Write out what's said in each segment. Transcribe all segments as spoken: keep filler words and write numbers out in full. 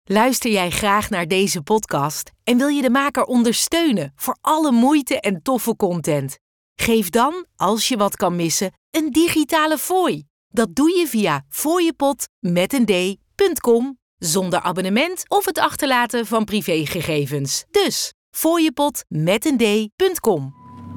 Luister jij graag naar deze podcast en wil je de maker ondersteunen voor alle moeite en toffe content? Geef dan, als je wat kan missen, een digitale fooi. Dat doe je via fooiepot met een d punt com zonder abonnement of het achterlaten van privégegevens. Dus fooiepot met een d punt com.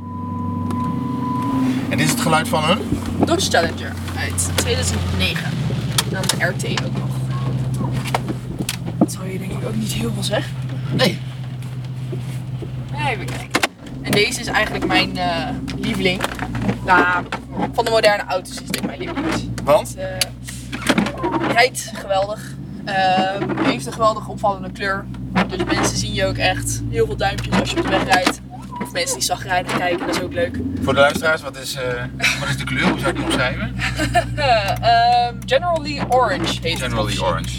En dit is het geluid van een? Dodge Challenger uit tweeduizend negen. Dan de R T ook nog. Dat zou je denk ik ook niet heel veel zeggen. Nee. Even kijken. En deze is eigenlijk mijn uh, lieveling. Nou, van de moderne auto's is dit mijn lieveling. Want? Het uh, rijdt geweldig. Uh, heeft een geweldig opvallende kleur. Dus mensen zien je ook echt heel veel duimpjes als je op de weg rijdt. Of mensen die zagrijnig kijken, dat is ook leuk. Voor de luisteraars, wat is, uh, wat is de kleur? Hoe zou ik die omschrijven? uh, generally orange heet Generally het. orange.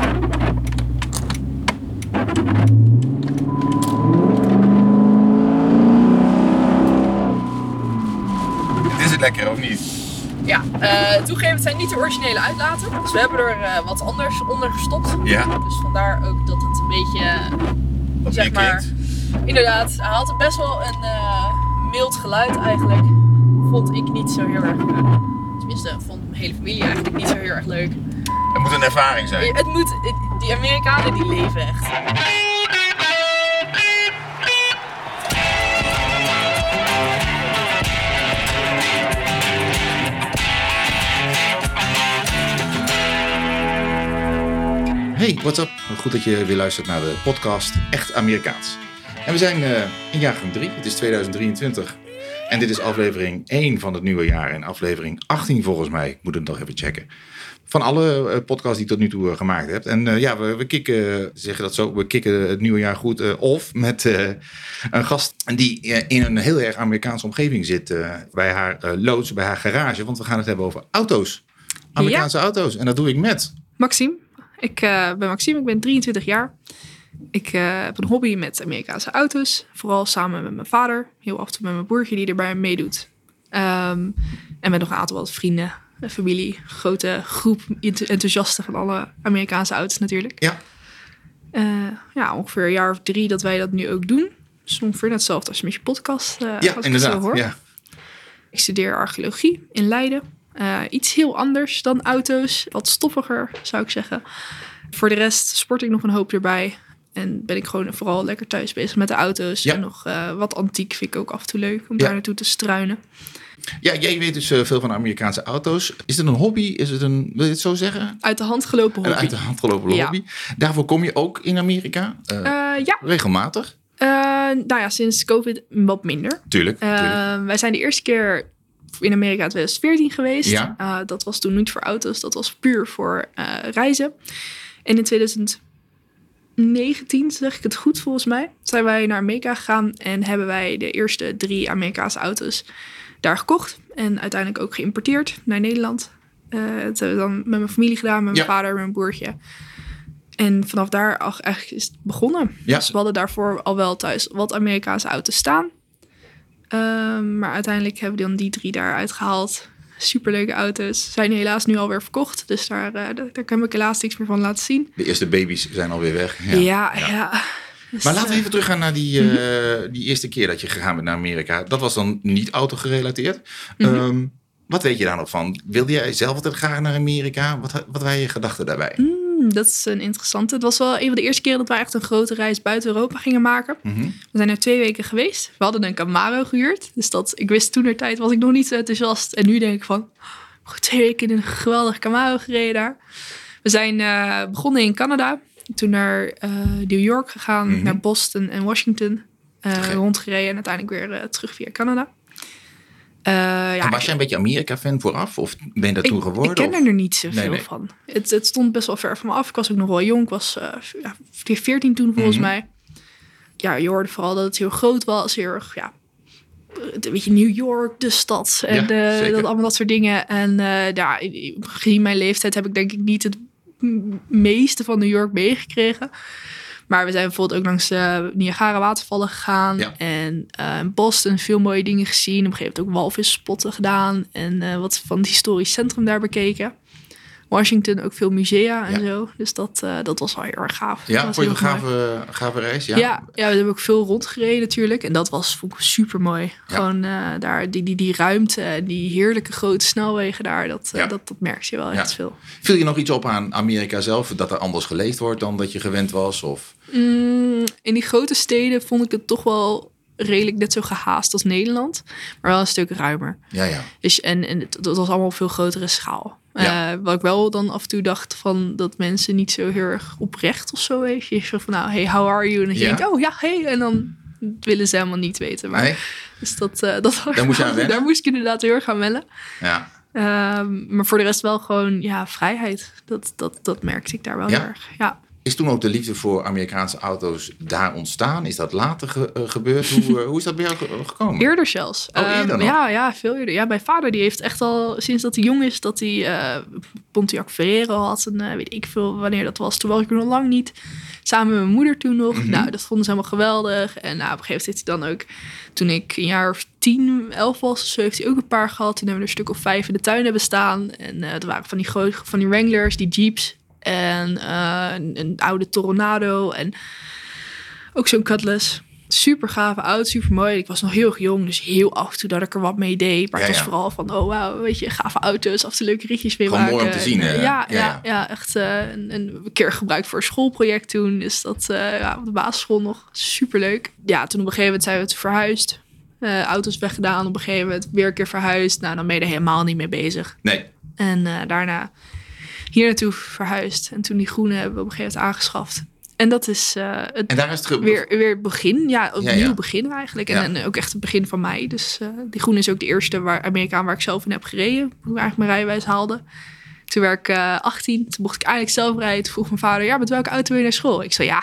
Dit is het lekker, of niet? Ja, uh, toegeven, het zijn niet de originele uitlaten. Dus we hebben er uh, wat anders onder gestopt. Ja. Dus vandaar ook dat het een beetje, Wat zeg meer maar, klinkt. inderdaad, hij had best wel een uh, mild geluid eigenlijk. Vond ik niet zo heel erg, uh, tenminste vond mijn hele familie eigenlijk niet zo heel erg leuk. Het moet een ervaring zijn. Het moet, het, die Amerikanen die leven echt. Hey, what's up? Goed dat je weer luistert naar de podcast Echt Amerikaans. En we zijn uh, in jaargang drie, het is tweeduizend drieëntwintig. En dit is aflevering één van het nieuwe jaar en aflevering achttien volgens mij. Ik moet het nog even checken. Van alle uh, podcasts die ik tot nu toe uh, gemaakt heb. En uh, ja, we, we kicken, zeggen dat zo, we kicken het nieuwe jaar goed uh, off met uh, een gast die uh, in een heel erg Amerikaanse omgeving zit. Uh, bij haar uh, loods, bij haar garage. Want we gaan het hebben over auto's. Amerikaanse ja. auto's. En dat doe ik met... Maxime. Ik uh, ben Maxime, ik ben drieëntwintig jaar. Ik uh, heb een hobby met Amerikaanse auto's. Vooral samen met mijn vader. Heel af en toe met mijn broertje die erbij meedoet. Um, en met nog een aantal wat vrienden en familie. Grote groep enthousiasten van alle Amerikaanse auto's natuurlijk. Ja. Uh, ja, ongeveer een jaar of drie dat wij dat nu ook doen. Dus ongeveer hetzelfde als met je podcast. Uh, ja, als inderdaad. Ik, zo hoor. Ja. Ik studeer archeologie in Leiden. Uh, iets heel anders dan auto's. Wat stoffiger, zou ik zeggen. Voor de rest sport ik nog een hoop erbij. En ben ik gewoon vooral lekker thuis bezig met de auto's. Ja. En nog uh, wat antiek vind ik ook af en toe leuk om Ja. daar naartoe te struinen. Ja, jij weet dus uh, veel van Amerikaanse auto's. Is het een hobby? Is het een, wil je het zo zeggen? Uit de hand gelopen hobby. Een uit de hand gelopen Ja. hobby. Daarvoor kom je ook in Amerika? Uh, Uh, ja. Regelmatig? Uh, nou ja, sinds COVID wat minder. Tuurlijk. Uh, tuurlijk. wij zijn de eerste keer in Amerika in tweeduizend veertien geweest. Ja. Uh, dat was toen niet voor auto's. Dat was puur voor uh, reizen. En in tweeduizend negentien, zeg ik het goed volgens mij, zijn wij naar Amerika gegaan en hebben wij de eerste drie Amerikaanse auto's daar gekocht. En uiteindelijk ook geïmporteerd naar Nederland. Uh, dat hebben we dan met mijn familie gedaan, met mijn Ja. vader en mijn broertje. En vanaf daar ach, eigenlijk is het begonnen. Ja. Dus we hadden daarvoor al wel thuis wat Amerikaanse auto's staan. Um, maar uiteindelijk hebben we dan die drie daar uitgehaald. Superleuke auto's. Zijn helaas nu alweer verkocht. Dus daar, uh, daar, daar kan ik helaas niks meer van laten zien. De eerste baby's zijn alweer weg. Ja, ja. ja. ja. Dus, Maar laten we uh, even teruggaan naar die, uh, die eerste keer dat je gegaan bent naar Amerika. Dat was dan niet auto-gerelateerd. Mm-hmm. Um, wat weet je daar nog van? Wilde jij zelf altijd graag naar Amerika? Wat, wat waren je gedachten daarbij? Mm, dat is een interessante. Het was wel een van de eerste keren dat wij echt een grote reis buiten Europa gingen maken. Mm-hmm. We zijn er twee weken geweest. We hadden een Camaro gehuurd. Dus dat, ik wist toen er tijd was ik nog niet zo enthousiast. En nu denk ik van, oh, twee weken in een geweldige Camaro gereden daar. We zijn uh, begonnen in Canada. Toen naar uh, New York gegaan, Mm-hmm. naar Boston en Washington. Uh, Okay. Rondgereden en uiteindelijk weer uh, terug via Canada. Uh, ja, En was jij een beetje Amerika-fan vooraf? Of ben je dat ik, toen geworden? Ik ken of? er niet zoveel Nee, nee. van. Het, het stond best wel ver van me af. Ik was ook nog wel jong. Ik was uh, ja, veertien toen volgens Mm-hmm. mij. Ja, je hoorde vooral dat het heel groot was. Heel erg, ja, een beetje New York, de stad. En Ja, uh, zeker. dat, allemaal dat soort dingen. En uh, ja, gezien mijn leeftijd heb ik denk ik niet het m- meeste van New York meegekregen. Maar we zijn bijvoorbeeld ook langs de Niagara watervallen gegaan. Ja. En uh, in Boston veel mooie dingen gezien. Op een gegeven moment ook walvisspotten gedaan. En uh, wat van het historisch centrum daar bekeken. Washington ook veel musea en Ja. zo. Dus dat, uh, dat was wel heel erg gaaf. Ja, dat vond je een heel mooi. gave, gave reis? Ja. Ja, ja, we hebben ook veel rondgereden natuurlijk. En dat was vond ik super mooi. Ja. Gewoon uh, daar die, die, die ruimte en die heerlijke grote snelwegen daar. Dat, uh, Ja. dat, dat merk je wel Ja. echt veel. Viel je nog iets op aan Amerika zelf? Dat er anders geleefd wordt dan dat je gewend was? Of? Mm, in die grote steden vond ik het toch wel redelijk net zo gehaast als Nederland. Maar wel een stuk ruimer. Ja, ja. Dus, en, en het, dat was allemaal op veel grotere schaal. Ja. Uh, wat ik wel dan af en toe dacht van dat mensen niet zo heel erg oprecht of zo weet je. Zo van nou, hey, how are you? En dan Ja. denk je, oh ja, hey. En dan willen ze helemaal niet weten. Maar, Nee? dus dat, uh, dat Daar moest je aan wennen? Daar moest ik inderdaad heel erg aan wennen. Ja. Um, maar voor de rest wel gewoon ja, vrijheid. Dat, dat, dat merkte ik daar wel Ja? heel erg. Ja. Is toen ook de liefde voor Amerikaanse auto's daar ontstaan? Is dat later ge- uh, gebeurd? Hoe, uh, hoe is dat bij jou ge- gekomen? Eerder zelfs. Oh, eerder um, nog? ja, ja, veel eerder. Ja, mijn vader die heeft echt al sinds dat hij jong is, dat hij uh, Pontiac Fiero had. En uh, weet ik veel wanneer dat was. Toen was ik er nog lang niet. Samen met mijn moeder toen nog. Mm-hmm. Nou, dat vonden ze helemaal geweldig. En nou, op een gegeven moment heeft hij dan ook, toen ik een jaar of tien, elf was, zo heeft hij ook een paar gehad. Toen hebben we er een stuk of vijf in de tuin hebben staan. En uh, er waren van die grote, van die Wranglers, die Jeeps. En uh, een, een oude Toronado. En ook zo'n Cutlass. Super gave auto, super mooi. Ik was nog heel erg jong, dus heel af en toe dat ik er wat mee deed. Maar Ja, het was ja. vooral van, oh wauw, weet je, gave auto's, af en toe leuke ritjes mee Gewoon maken. mooi om te zien, En, hè? uh, ja, Ja, ja, ja. ja, echt uh, een, een keer gebruikt voor een schoolproject toen. Dus dat uh, ja, op de basisschool nog super leuk. Ja, toen op een gegeven moment zijn we het verhuisd. Uh, auto's weggedaan, op een gegeven moment weer een keer verhuisd. Nou, dan ben je er helemaal niet mee bezig. Nee. En uh, daarna hier naartoe verhuisd. En toen die groene hebben we op een gegeven moment aangeschaft. En dat is uh, het, En daar is het ge- weer, weer het begin. Ja, opnieuw Ja, ja. begin eigenlijk. Ja. En, en ook echt het begin van mij. Dus uh, die groene is ook de eerste waar, Amerikaan waar ik zelf in heb gereden. Hoe ik eigenlijk mijn rijbewijs haalde. Toen werd ik uh, achttien. Toen mocht ik eigenlijk zelf rijden. Toen vroeg mijn vader, ja, met welke auto wil je naar school? Ik zei, ja,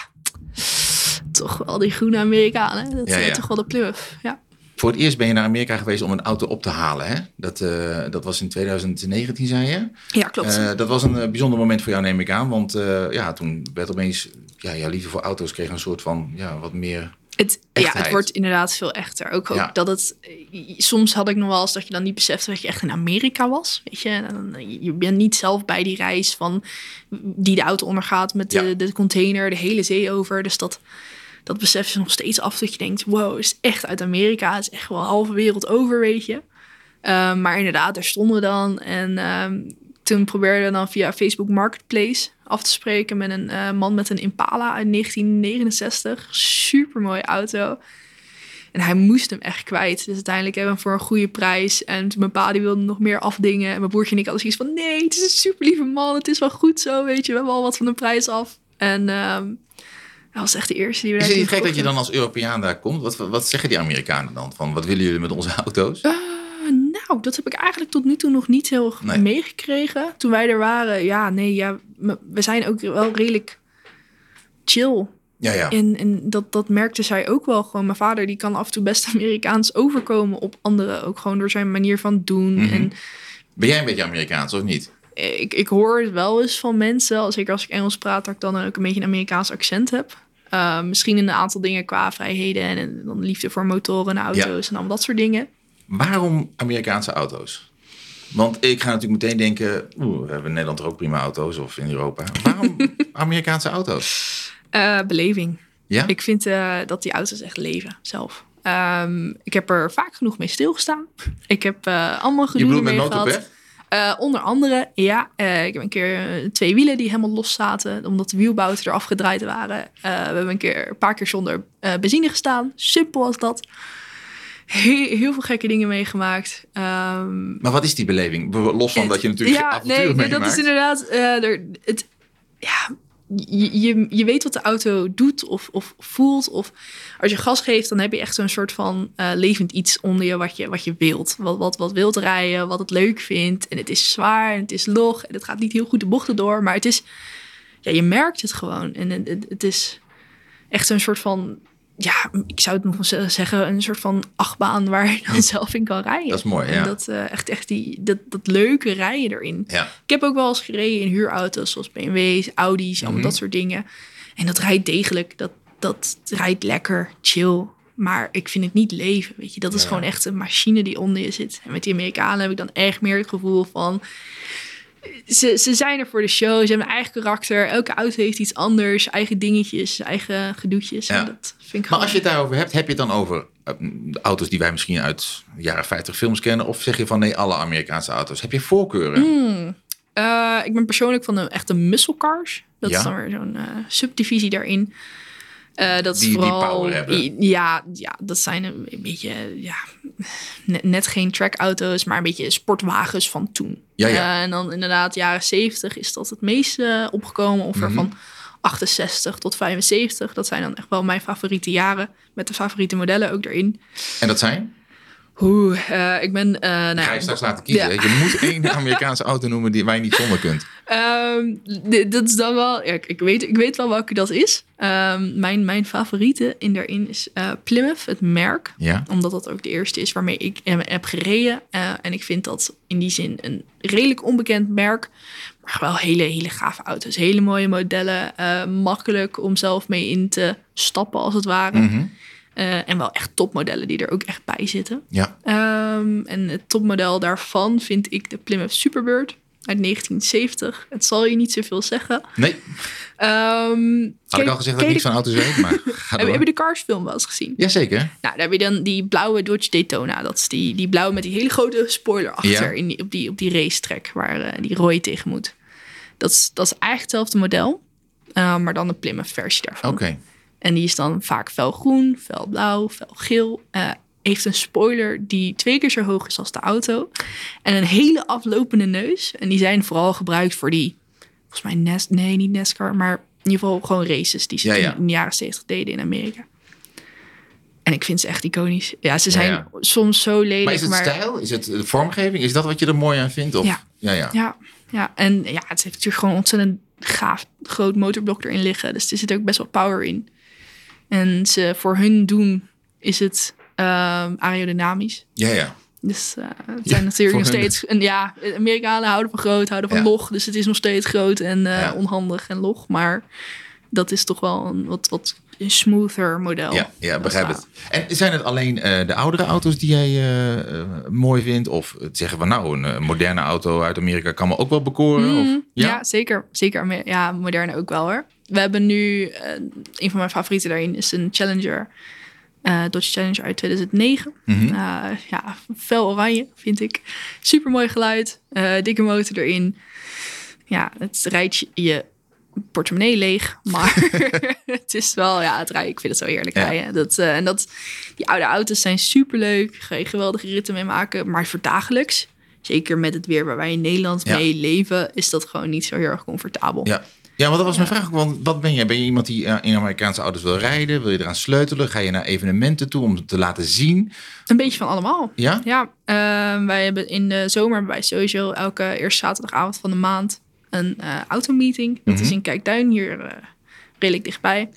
toch wel die groene Amerikanen. Dat is Ja, ja. uh, toch wel de Plymouth. Ja. Voor het eerst ben je naar Amerika geweest om een auto op te halen. Hè? Dat, uh, dat was in twintig negentien, zei je? Ja, klopt. Uh, dat was een uh, bijzonder moment voor jou, neem ik aan. Want uh, ja, toen werd opeens... Ja, jouw liefde voor auto's kreeg een soort van... Ja, wat meer... Het, ja, Echtheid. het wordt inderdaad veel echter. Ook, ook Ja. dat het... Soms had ik nog wel eens dat je dan niet besefte dat je echt in Amerika was. Weet je, en dan, je bent niet zelf bij die reis van die de auto ondergaat met de, Ja. de container, de hele zee over. Dus dat, dat besef je nog steeds af dat je denkt, wow, het is echt uit Amerika. Het is echt wel halve wereld over, weet je. Um, maar inderdaad, daar stonden we dan. En um, toen probeerden we dan via Facebook Marketplace af te spreken met een uh, man met een Impala uit negentien negenenzestig. Supermooie auto. En hij moest hem echt kwijt. Dus uiteindelijk hebben we hem voor een goede prijs. En mijn pa die wilde nog meer afdingen. En mijn broertje en ik hadden zoiets van... nee, het is een super lieve man. Het is wel goed zo, weet je. We hebben al wat van de prijs af. En um, dat was echt de eerste die we Is daar het niet toen gek dat je gekocht dan als Europeaan daar komt? Wat, wat zeggen die Amerikanen dan? Van, wat willen jullie met onze auto's? hebben. Uh, nou, dat heb ik eigenlijk tot nu toe nog niet heel erg Nee. meegekregen. Toen wij er waren, ja, nee, ja, we zijn ook wel redelijk chill. Ja, ja. En, en dat, dat merkte zij ook wel gewoon. Mijn vader die kan af en toe best Amerikaans overkomen op anderen. Ook gewoon door zijn manier van doen. Mhm. En Ben jij een beetje Amerikaans of niet? ik, ik hoor het wel eens van mensen, zeker als ik Engels praat, dat ik dan ook een beetje een Amerikaans accent heb. Uh, misschien in een aantal dingen qua vrijheden en, en dan liefde voor motoren en auto's Ja. en allemaal dat soort dingen. Waarom Amerikaanse auto's? Want ik ga natuurlijk meteen denken... Oeh, we hebben in Nederland er ook prima auto's of in Europa. Waarom Amerikaanse auto's? Uh, beleving. Ja? Ik vind uh, dat die auto's echt leven zelf. Um, ik heb er vaak genoeg mee stilgestaan. Ik heb uh, allemaal Je gedoe bedoelt met mee gehad. notepad? Uh, onder andere, ja. Uh, ik heb een keer uh, twee wielen die helemaal los zaten. Omdat de wielbouten eraf gedraaid waren. Uh, we hebben een, keer, een paar keer zonder uh, benzine gestaan. Simpel als dat. Heel, heel veel gekke dingen meegemaakt. Um, Maar wat is die beleving? Los van het, dat je natuurlijk ja, avonturen nee, nee, meemaakt. dat is inderdaad... Uh, er, het, ja, je, je, je weet wat de auto doet of, of voelt. Of als je gas geeft, dan heb je echt zo'n soort van uh, levend iets onder je wat je, wat je wilt. Wat, wat, wat wilt rijden, wat het leuk vindt. En het is zwaar en het is log. En het gaat niet heel goed de bochten door. Maar het is... Ja, je merkt het gewoon. En het, het is echt een soort van... Ja, ik zou het nog wel zeggen, een soort van achtbaan waar je dan zelf in kan rijden. Dat is mooi, en ja. dat, uh, echt, echt die, dat, dat leuke rijden erin. Ja. Ik heb ook wel eens gereden in huurauto's, zoals B M W's, Audi's, allemaal Mhm. dat soort dingen. En dat rijdt degelijk, dat, dat rijdt lekker, chill. Maar ik vind het niet leven, weet je. Dat is Ja. gewoon echt een machine die onder je zit. En met die Amerikanen heb ik dan echt meer het gevoel van... Ze, ze zijn er voor de show. Ze hebben een eigen karakter. Elke auto heeft iets anders. Eigen dingetjes, eigen gedoetjes. Ja. En dat vind ik Maar gewoon... als je het daarover hebt, heb je het dan over uh, de auto's die wij misschien uit de jaren vijftig films kennen? Of zeg je van nee, alle Amerikaanse auto's? Heb je voorkeuren? Mm. Uh, ik ben persoonlijk van de echte muscle cars. Dat Ja? is dan weer zo'n uh, subdivisie daarin. Uh, dat is Die- die vooral, power hebben. i- Ja, ja, dat zijn een, een beetje... Ja, net, net geen trackauto's, maar een beetje sportwagens van toen. Ja, ja. Uh, en dan inderdaad, jaren zeventig is dat het meest uh, opgekomen. Ongeveer Mhm. van achtenzestig tot vijfenzeventig. Dat zijn dan echt wel mijn favoriete jaren. Met de favoriete modellen ook erin. En dat zijn? Oeh, uh, ik ben... Uh, nou Ga ja, je straks laten kiezen. ja. Je moet één Amerikaanse auto noemen die waar je niet zonder kunt. Um, d- dat is dan wel... Ja, ik, weet, ik weet wel welke dat is. Um, mijn, mijn favoriete in daarin is uh, Plymouth, het merk. Ja. Omdat dat ook de eerste is waarmee ik hem heb gereden. Uh, en ik vind dat in die zin een redelijk onbekend merk. Maar wel hele, hele gave auto's. Hele mooie modellen. Uh, makkelijk om zelf mee in te stappen, als het ware. Mm-hmm. Uh, en wel echt topmodellen die er ook echt bij zitten. Ja. Um, en het topmodel daarvan vind ik de Plymouth Superbird uit negentien zeventig. Het zal je niet zoveel zeggen. Nee, Um, had ik al gezegd dat ik niks van auto's weet, maar ga Heb, door. heb je de Cars film wel eens gezien? Jazeker. Nou, daar heb je dan die blauwe Dodge Daytona. Dat is die, die blauwe met die hele grote spoiler achter Ja. in die, op, die, op die racetrack waar uh, die Roy tegen moet. Dat is, dat is eigenlijk hetzelfde model, uh, maar dan een Plymouth versie daarvan. Oké. Okay. En die is dan vaak felgroen, felblauw, felgeel. Uh, heeft een spoiler die twee keer zo hoog is als de auto. En een hele aflopende neus. En die zijn vooral gebruikt voor die... Volgens mij Nes, nee, niet NASCAR, maar in ieder geval gewoon races die ze Ja, toen ja. in de jaren zeventig deden in Amerika. En ik vind ze echt iconisch. Ja, ze zijn Ja, ja. soms zo lelijk. Maar is het stijl? Is het de vormgeving? Is dat wat je er mooi aan vindt? Of? Ja. Ja, ja. Ja, ja, en ja, het heeft natuurlijk gewoon ontzettend gaaf groot motorblok erin liggen. Dus er zit ook best wel power in. En ze, voor hun doen is het um, aerodynamisch. Ja, ja. Dus uh, het zijn Ja, natuurlijk nog voor hun. steeds... En ja, Amerikanen houden van groot, houden van Ja. log. Dus het is nog steeds groot en uh, Ja. onhandig en log. Maar dat is toch wel een wat, wat een smoother model. Ja, ja, begrijp Dat het. En zijn het alleen uh, de oudere auto's die jij uh, uh, mooi vindt? Of zeggen we nou, een uh, moderne auto uit Amerika kan me ook wel bekoren? Mm, of, ja? ja, zeker. Zeker. Ja, moderne ook wel hoor. We hebben nu, uh, een van mijn favorieten daarin is een Challenger. Uh, Dodge Challenger uit tweeduizend negen. Mm-hmm. Uh, ja, fel oranje vind ik. Super mooi geluid. Uh, dikke motor erin. Ja, het rijdt je, je portemonnee leeg. Maar het is wel, ja, het rijden. Ik vind het zo heerlijk Ja. rijden. Dat, uh, en dat, die oude auto's zijn super leuk. Ga je geweldige ritten mee maken. Maar voor dagelijks, zeker met het weer waar wij in Nederland Ja. mee leven, is dat gewoon niet zo heel erg comfortabel. Ja. Ja, want dat was mijn vraag ook. Want wat ben je? Ben je iemand die uh, in Amerikaanse auto's wil rijden? Wil je eraan sleutelen? Ga je naar evenementen toe om het te laten zien? Een beetje van allemaal. Ja? Ja, uh, wij hebben in de zomer hebben wij sowieso elke eerste zaterdagavond van de maand een uh, automeeting. Dat Mm-hmm. is in Kijkduin, hier uh, redelijk dichtbij.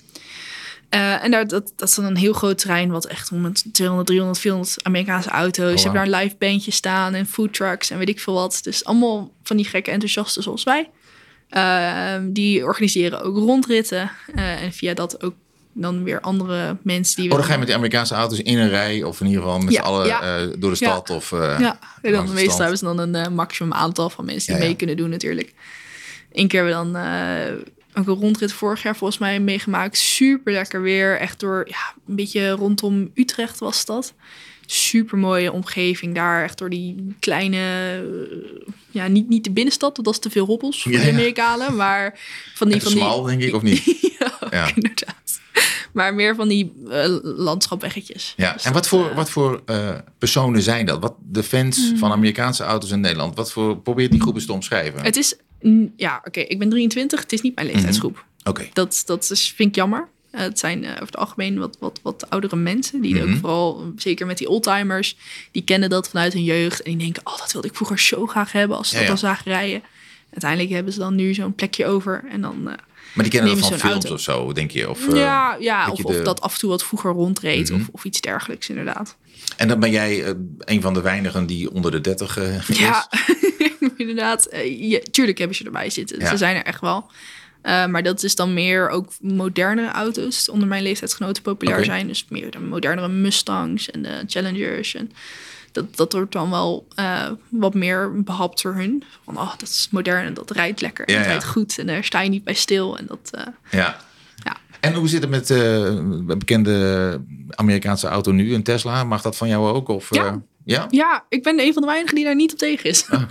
Uh, en daar, dat, dat is dan een heel groot terrein wat echt om met tweehonderd, driehonderd, vierhonderd Amerikaanse auto's. Oh, wow. Ze hebben daar een live bandje staan en food trucks en weet ik veel wat. Dus allemaal van die gekke enthousiasten zoals wij. Uh, die organiseren ook rondritten. Uh, en via dat ook dan weer andere mensen die... Oh, dan ga je met die Amerikaanse auto's in een rij. Of in ieder geval met Ja, z'n allen ja. uh, door de stad. Ja. Of, uh, Ja, en dan langs de meestal strand. hebben ze dan een uh, maximum aantal van mensen die Ja, ja. mee kunnen doen natuurlijk. Eén keer hebben we dan uh, ook een rondrit vorig jaar volgens mij meegemaakt. Super lekker weer. Echt door, ja, een beetje rondom Utrecht was dat. Super mooie omgeving daar. Echt door die kleine, uh, ja, niet, niet de binnenstad. Want dat is te veel hobbels voor Ja, de ja. Amerikanen. Maar van die... En van die smal, denk ik, of niet? ja, ook Ja. inderdaad. Maar meer van die uh, landschapweggetjes. Ja, Dus en dat, wat voor, uh, wat voor uh, personen zijn dat? Wat de fans Hmm. van Amerikaanse auto's in Nederland? Wat voor, probeer die groep eens te omschrijven. Het is... mm, Ja, oké. Okay, ik ben drieëntwintig. Het is niet mijn leeftijdsgroep. Oké. Dat, dat is, vind ik jammer. Uh, het zijn uh, over het algemeen wat, wat, wat oudere mensen. Die Mhm. ook vooral, zeker met die oldtimers, die kennen dat vanuit hun jeugd. En die denken, oh, dat wilde ik vroeger zo graag hebben als ze Ja, dat ja. dan zagen rijden. Uiteindelijk hebben ze dan nu zo'n plekje over. En dan, uh, Maar die kennen dat nemen van ze een films auto. of zo, denk je? Of, uh, ja, ja dat of, je of de- dat af en toe wat vroeger rondreed. Mhm. of, of iets dergelijks, inderdaad. En dan ben jij uh, een van de weinigen die onder de dertig uh, is. Ja, inderdaad. Uh, ja, tuurlijk hebben ze erbij zitten. Ja. Ze zijn er echt wel. Uh, maar dat is dan meer ook moderne auto's die onder mijn leeftijdsgenoten populair Oké. zijn. Dus meer de modernere Mustangs en de Challengers. En Dat, dat wordt dan wel uh, wat meer behapt door hun. Van, oh, dat is modern en dat rijdt lekker. En ja, dat ja. rijdt goed. En daar sta je niet bij stil. En dat, uh, ja. ja. En hoe zit het met uh, bekende Amerikaanse auto nu, een Tesla? Mag dat van jou ook? Of, ja. Uh, ja? Ja, ik ben een van de weinigen die daar niet op tegen is. Oh.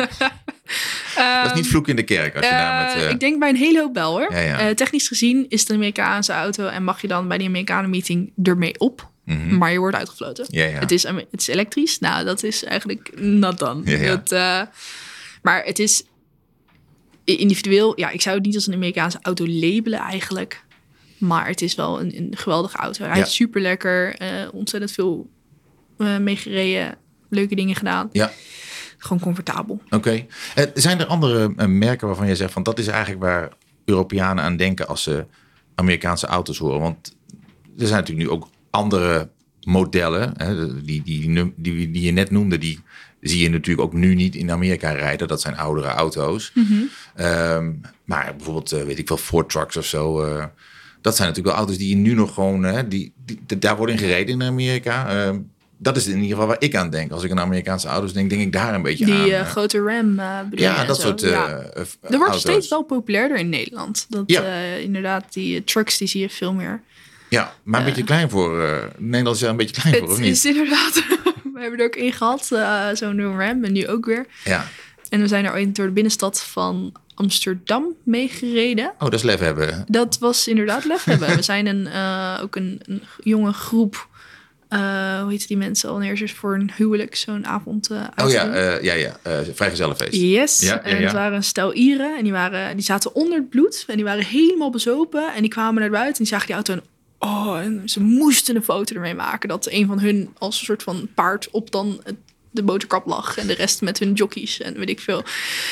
Dat is niet vloek in de kerk als je uh, daar met... Uh... Ik denk bij een hele hoop wel, hoor. Ja, ja. Uh, technisch gezien is het een Amerikaanse auto... en mag je dan bij die Amerikanen meeting ermee op. Mm-hmm. Maar je wordt uitgefloten. Ja, ja. Het, is, het is elektrisch. Nou, dat is eigenlijk not done. Ja, ja. Dat, uh, maar het is individueel... Ja, ik zou het niet als een Amerikaanse auto labelen eigenlijk. Maar het is wel een, een geweldige auto. Hij ja. is super lekker. Uh, ontzettend veel uh, mee gereden. Leuke dingen gedaan. Ja. Gewoon comfortabel. Oké. Okay. Uh, zijn er andere uh, merken waarvan je zegt... van dat is eigenlijk waar Europeanen aan denken... als ze Amerikaanse auto's horen? Want er zijn natuurlijk nu ook andere modellen. Hè, die, die, die, die, die je net noemde... die zie je natuurlijk ook nu niet in Amerika rijden. Dat zijn oudere auto's. Mm-hmm. Um, maar bijvoorbeeld, uh, weet ik wel, Ford Trucks of zo... Uh, dat zijn natuurlijk wel auto's die je nu nog gewoon... Uh, die, die, die, daar worden in gereden in Amerika... Uh, Dat is in ieder geval waar ik aan denk. Als ik aan Amerikaanse auto's denk, denk ik daar een beetje die, aan. Die uh, grote Ram uh, bedoel Ja, dat zo. soort uh, ja. uh, Er wordt auto's. steeds wel populairder in Nederland. Dat ja. uh, inderdaad, die uh, trucks, die zie je veel meer. Ja, maar een uh, beetje klein voor... Uh, Nederland is er een beetje klein het voor, of niet? Het is inderdaad... We hebben er ook één gehad, uh, zo'n Ram. En nu ook weer. Ja. En we zijn er ooit door de binnenstad van Amsterdam mee gereden. Oh, dat is lef hebben. Dat was inderdaad lef hebben. We zijn een, uh, ook een, een jonge groep... Uh, hoe heet die mensen al neer voor een huwelijk, zo'n avond uh, Oh ja, uh, ja, ja. Uh, vrijgezellenfeest. Yes, ja, ja, en ja. het waren een stel Ieren en die, waren, die zaten onder het bloed en die waren helemaal bezopen en die kwamen naar buiten en die zagen die auto en oh, en ze moesten een foto ermee maken dat een van hun als een soort van paard op dan het, de motorkap lag en de rest met hun jockeys en weet ik veel.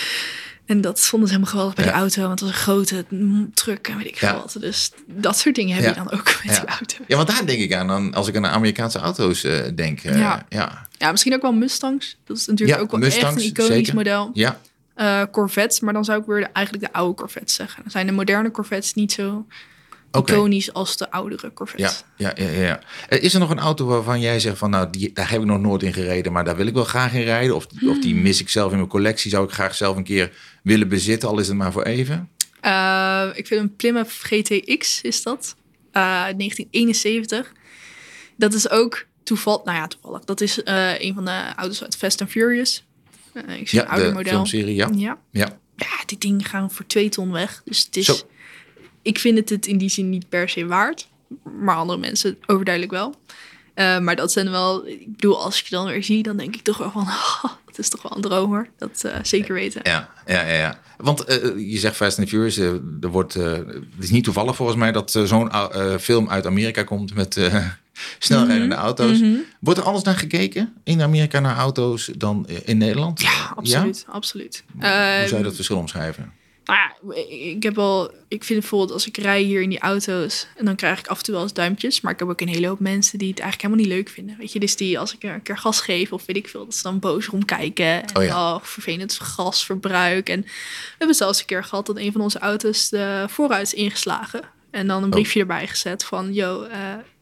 En dat vonden ze helemaal geweldig bij ja. die auto. Want het was een grote truck en weet ik veel ja. wat. Dus dat soort dingen heb ja. je dan ook met ja. die auto. Ja, want daar denk ik aan dan, als ik aan Amerikaanse auto's uh, denk. Uh, ja. Ja. ja, misschien ook wel Mustangs. Dat is natuurlijk ja, ook wel Mustangs, echt een iconisch zeker. model. Ja. Uh, Corvettes, maar dan zou ik weer de, eigenlijk de oude Corvettes zeggen. Dan zijn de moderne Corvettes niet zo okay. iconisch als de oudere Corvettes. Ja, ja, ja, ja. Is er nog een auto waarvan jij zegt van nou, die, daar heb ik nog nooit in gereden, maar daar wil ik wel graag in rijden? Of, hmm. of die mis ik zelf in mijn collectie, zou ik graag zelf een keer willen bezitten, al is het maar voor even? Uh, ik vind een Plymouth G T X, is dat. Uh, negentien eenenzeventig. Dat is ook toevallig, nou ja, toevallig. Dat is uh, een van de auto's uit Fast and Furious. Uh, ik zie ja, een ouder de model. filmserie, ja. ja. Ja. Ja, die dingen gaan voor twee ton weg. Dus het is... Zo. Ik vind het het in die zin niet per se waard. Maar andere mensen overduidelijk wel. Uh, maar dat zijn wel... Ik bedoel, als ik je dan weer zie, dan denk ik toch wel van... Oh, dat is toch wel een droom, hoor. Dat uh, zeker weten. Ja, ja, ja. ja. Want uh, je zegt Fast and Furious. Uh, er wordt, uh, het is niet toevallig volgens mij dat uh, zo'n uh, film uit Amerika komt met uh, snelrijdende mm-hmm. auto's. Mm-hmm. Wordt er anders naar gekeken in Amerika naar auto's dan in Nederland? Ja, absoluut. Ja? absoluut. Hoe uh, zou je dat verschil omschrijven? Nou ja, ik heb wel... Ik vind bijvoorbeeld als ik rij hier in die auto's... en dan krijg ik af en toe wel eens duimpjes. Maar ik heb ook een hele hoop mensen die het eigenlijk helemaal niet leuk vinden. Weet je, dus die als ik een keer gas geef of weet ik veel... dat ze dan boos rondkijken. En oh ja. oh, vervelend gasverbruik. En we hebben zelfs een keer gehad dat een van onze auto's de vooruit is ingeslagen. En dan een briefje oh. erbij gezet van... Yo, uh,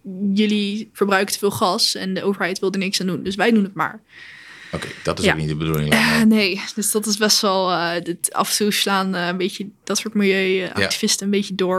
jullie verbruiken te veel gas en de overheid wil er niks aan doen. Dus wij doen het maar. Oké, okay, dat is ja. ook niet de bedoeling. Uh, nee, dus dat is best wel... Uh, dit, af en toe slaan uh, een beetje dat soort milieuactivisten ja. een beetje door.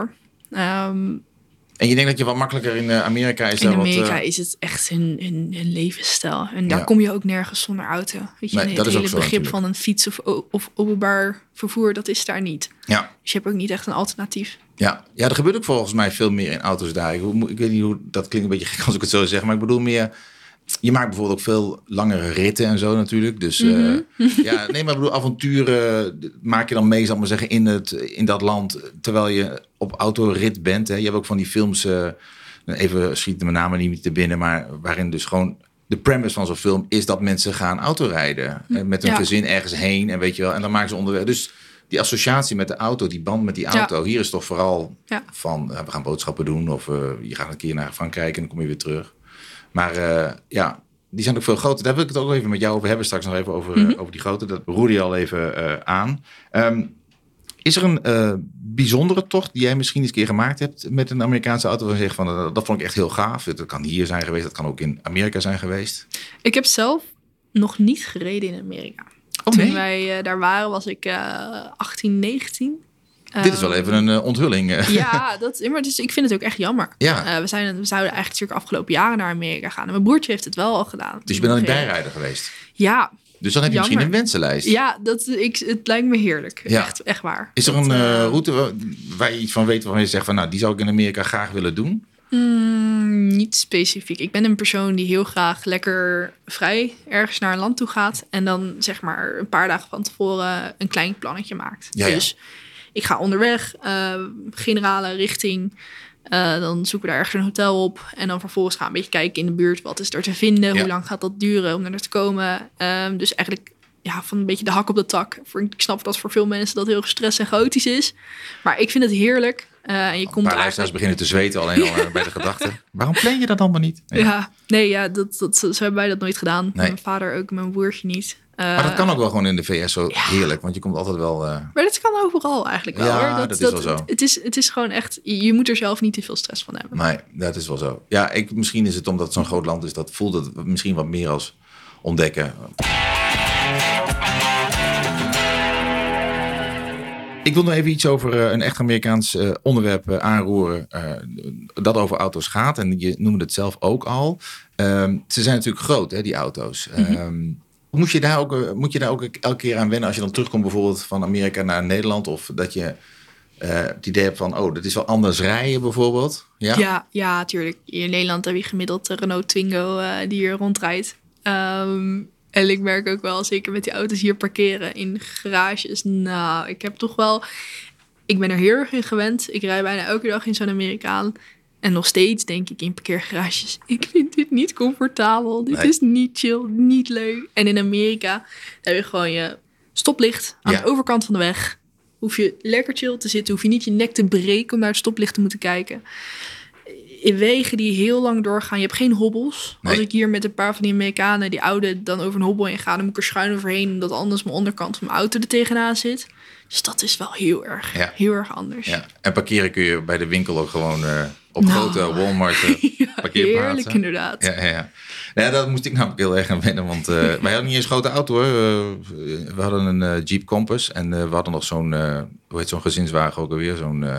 Um, en je denkt dat je wat makkelijker in Amerika is? In daar Amerika wat, uh... is het echt hun, hun, hun levensstijl. En daar ja. kom je ook nergens zonder auto. Weet je, nee, het dat hele is begrip natuurlijk. van een fiets of, of openbaar vervoer, dat is daar niet. Ja. Dus je hebt ook niet echt een alternatief. Ja, ja, er gebeurt ook volgens mij veel meer in auto's daar. Ik, ik weet niet hoe, dat klinkt een beetje gek als ik het zo zeg, maar ik bedoel meer... Je maakt bijvoorbeeld ook veel langere ritten en zo natuurlijk. Dus mm-hmm. uh, ja, nee, maar ik bedoel, avonturen maak je dan mee, zal ik maar zeggen, in, het, in dat land. Terwijl je op autorit bent. Hè. Je hebt ook van die films, uh, even schiet mijn naam niet te binnen, maar waarin dus gewoon de premise van zo'n film is dat mensen gaan autorijden. Mm. Met hun ja. gezin ergens heen en weet je wel. En dan maken ze onderweg. Dus die associatie met de auto, die band met die auto. Ja. Hier is toch vooral ja. van, uh, we gaan boodschappen doen. Of uh, je gaat een keer naar Frankrijk en dan kom je weer terug. Maar uh, ja, die zijn ook veel groter. Daar wil ik het ook even met jou over hebben. Straks nog even over, mm-hmm. uh, over die grote. Dat roerde je al even uh, aan. Um, is er een uh, bijzondere tocht die jij misschien eens een keer gemaakt hebt met een Amerikaanse auto? Waar je zegt van, uh, dat vond ik echt heel gaaf. Dat kan hier zijn geweest. Dat kan ook in Amerika zijn geweest. Ik heb zelf nog niet gereden in Amerika. Oh, Toen nee? wij uh, daar waren, was ik uh, achttien, negentien. Dit is wel even een uh, onthulling. Uh. Ja, dat, maar dus, ik vind het ook echt jammer. Ja. Uh, we, zijn, we zouden eigenlijk natuurlijk afgelopen jaren naar Amerika gaan. En mijn broertje heeft het wel al gedaan. Dus je bent dan niet bijrijder geweest? Ja. Dus dan heb je jammer. misschien een wensenlijst. Ja, dat, ik, het lijkt me heerlijk. Ja. Echt, echt waar. Is er dat, een uh, uh, route waar je iets van weet waarvan je zegt van nou, die zou ik in Amerika graag willen doen? Mm, niet specifiek. Ik ben een persoon die heel graag lekker vrij ergens naar een land toe gaat. En dan zeg maar een paar dagen van tevoren een klein plannetje maakt. Ja, ja. Dus ik ga onderweg, uh, generale richting. Uh, dan zoeken we daar ergens een hotel op. En dan vervolgens gaan we een beetje kijken in de buurt. Wat is er te vinden? Ja. Hoe lang gaat dat duren om er te komen? Um, dus eigenlijk ja, van een beetje de hak op de tak. Voor, ik snap dat voor veel mensen dat heel gestrest en chaotisch is. Maar ik vind het heerlijk. Uh, en je Een komt paar luisteraars beginnen te zweten alleen al uh, bij de gedachte. Waarom plan je dat allemaal niet? Ja, ja nee, ja, dat, dat, zo hebben wij dat nooit gedaan. Nee. Mijn vader ook, mijn broertje niet. Uh, Maar dat kan ook wel gewoon in de V S zo ja. heerlijk. Want je komt altijd wel... Uh... Maar dat kan overal eigenlijk wel. Ja, hoor. Dat, dat is dat, wel zo. Het, het, is, het is gewoon echt... Je moet er zelf niet te veel stress van hebben. Nee, dat is wel zo. Ja, ik, misschien is het omdat het zo'n groot land is. Dat voelt het misschien wat meer als ontdekken. Ik wil nog even iets over uh, een echt Amerikaans uh, onderwerp uh, aanroeren. Uh, dat over auto's gaat. En je noemde het zelf ook al. Um, ze zijn natuurlijk groot, hè, die auto's. Mm-hmm. Um, moet, je daar ook, uh, moet je daar ook elke keer aan wennen als je dan terugkomt bijvoorbeeld van Amerika naar Nederland? Of dat je uh, het idee hebt van, oh, dat is wel anders rijden bijvoorbeeld? Ja, ja, ja tuurlijk. In Nederland heb je gemiddeld de Renault Twingo uh, die hier rondrijdt. Um, En ik merk ook wel, zeker met die auto's hier parkeren in garages. Nou, ik heb toch wel... Ik ben er heel erg in gewend. Ik rij bijna elke dag in zo'n Amerikaan. En nog steeds denk ik in parkeergarages. Ik vind dit niet comfortabel. Dit nee. is niet chill, niet leuk. En in Amerika heb je gewoon je stoplicht aan ja. de overkant van de weg. Hoef je lekker chill te zitten. Hoef je niet je nek te breken om naar het stoplicht te moeten kijken. In wegen die heel lang doorgaan. Je hebt geen hobbels. Nee. Als ik hier met een paar van die Amerikanen, die oude, dan over een hobbel in ga, dan moet ik er schuin overheen, omdat anders mijn onderkant van mijn auto er tegenaan zit. Dus dat is wel heel erg, ja. heel erg anders. Ja. En parkeren kun je bij de winkel ook gewoon uh, op nou. grote Walmart uh, ja, parkeerplaatsen. Heerlijk inderdaad. Ja, ja, ja. Nou, dat moest ik namelijk heel erg aan wennen, want uh, wij hadden niet eens een grote auto hoor. Uh, we hadden een uh, Jeep Compass en uh, we hadden nog zo'n, uh, hoe heet zo'n gezinswagen ook alweer, zo'n... Uh,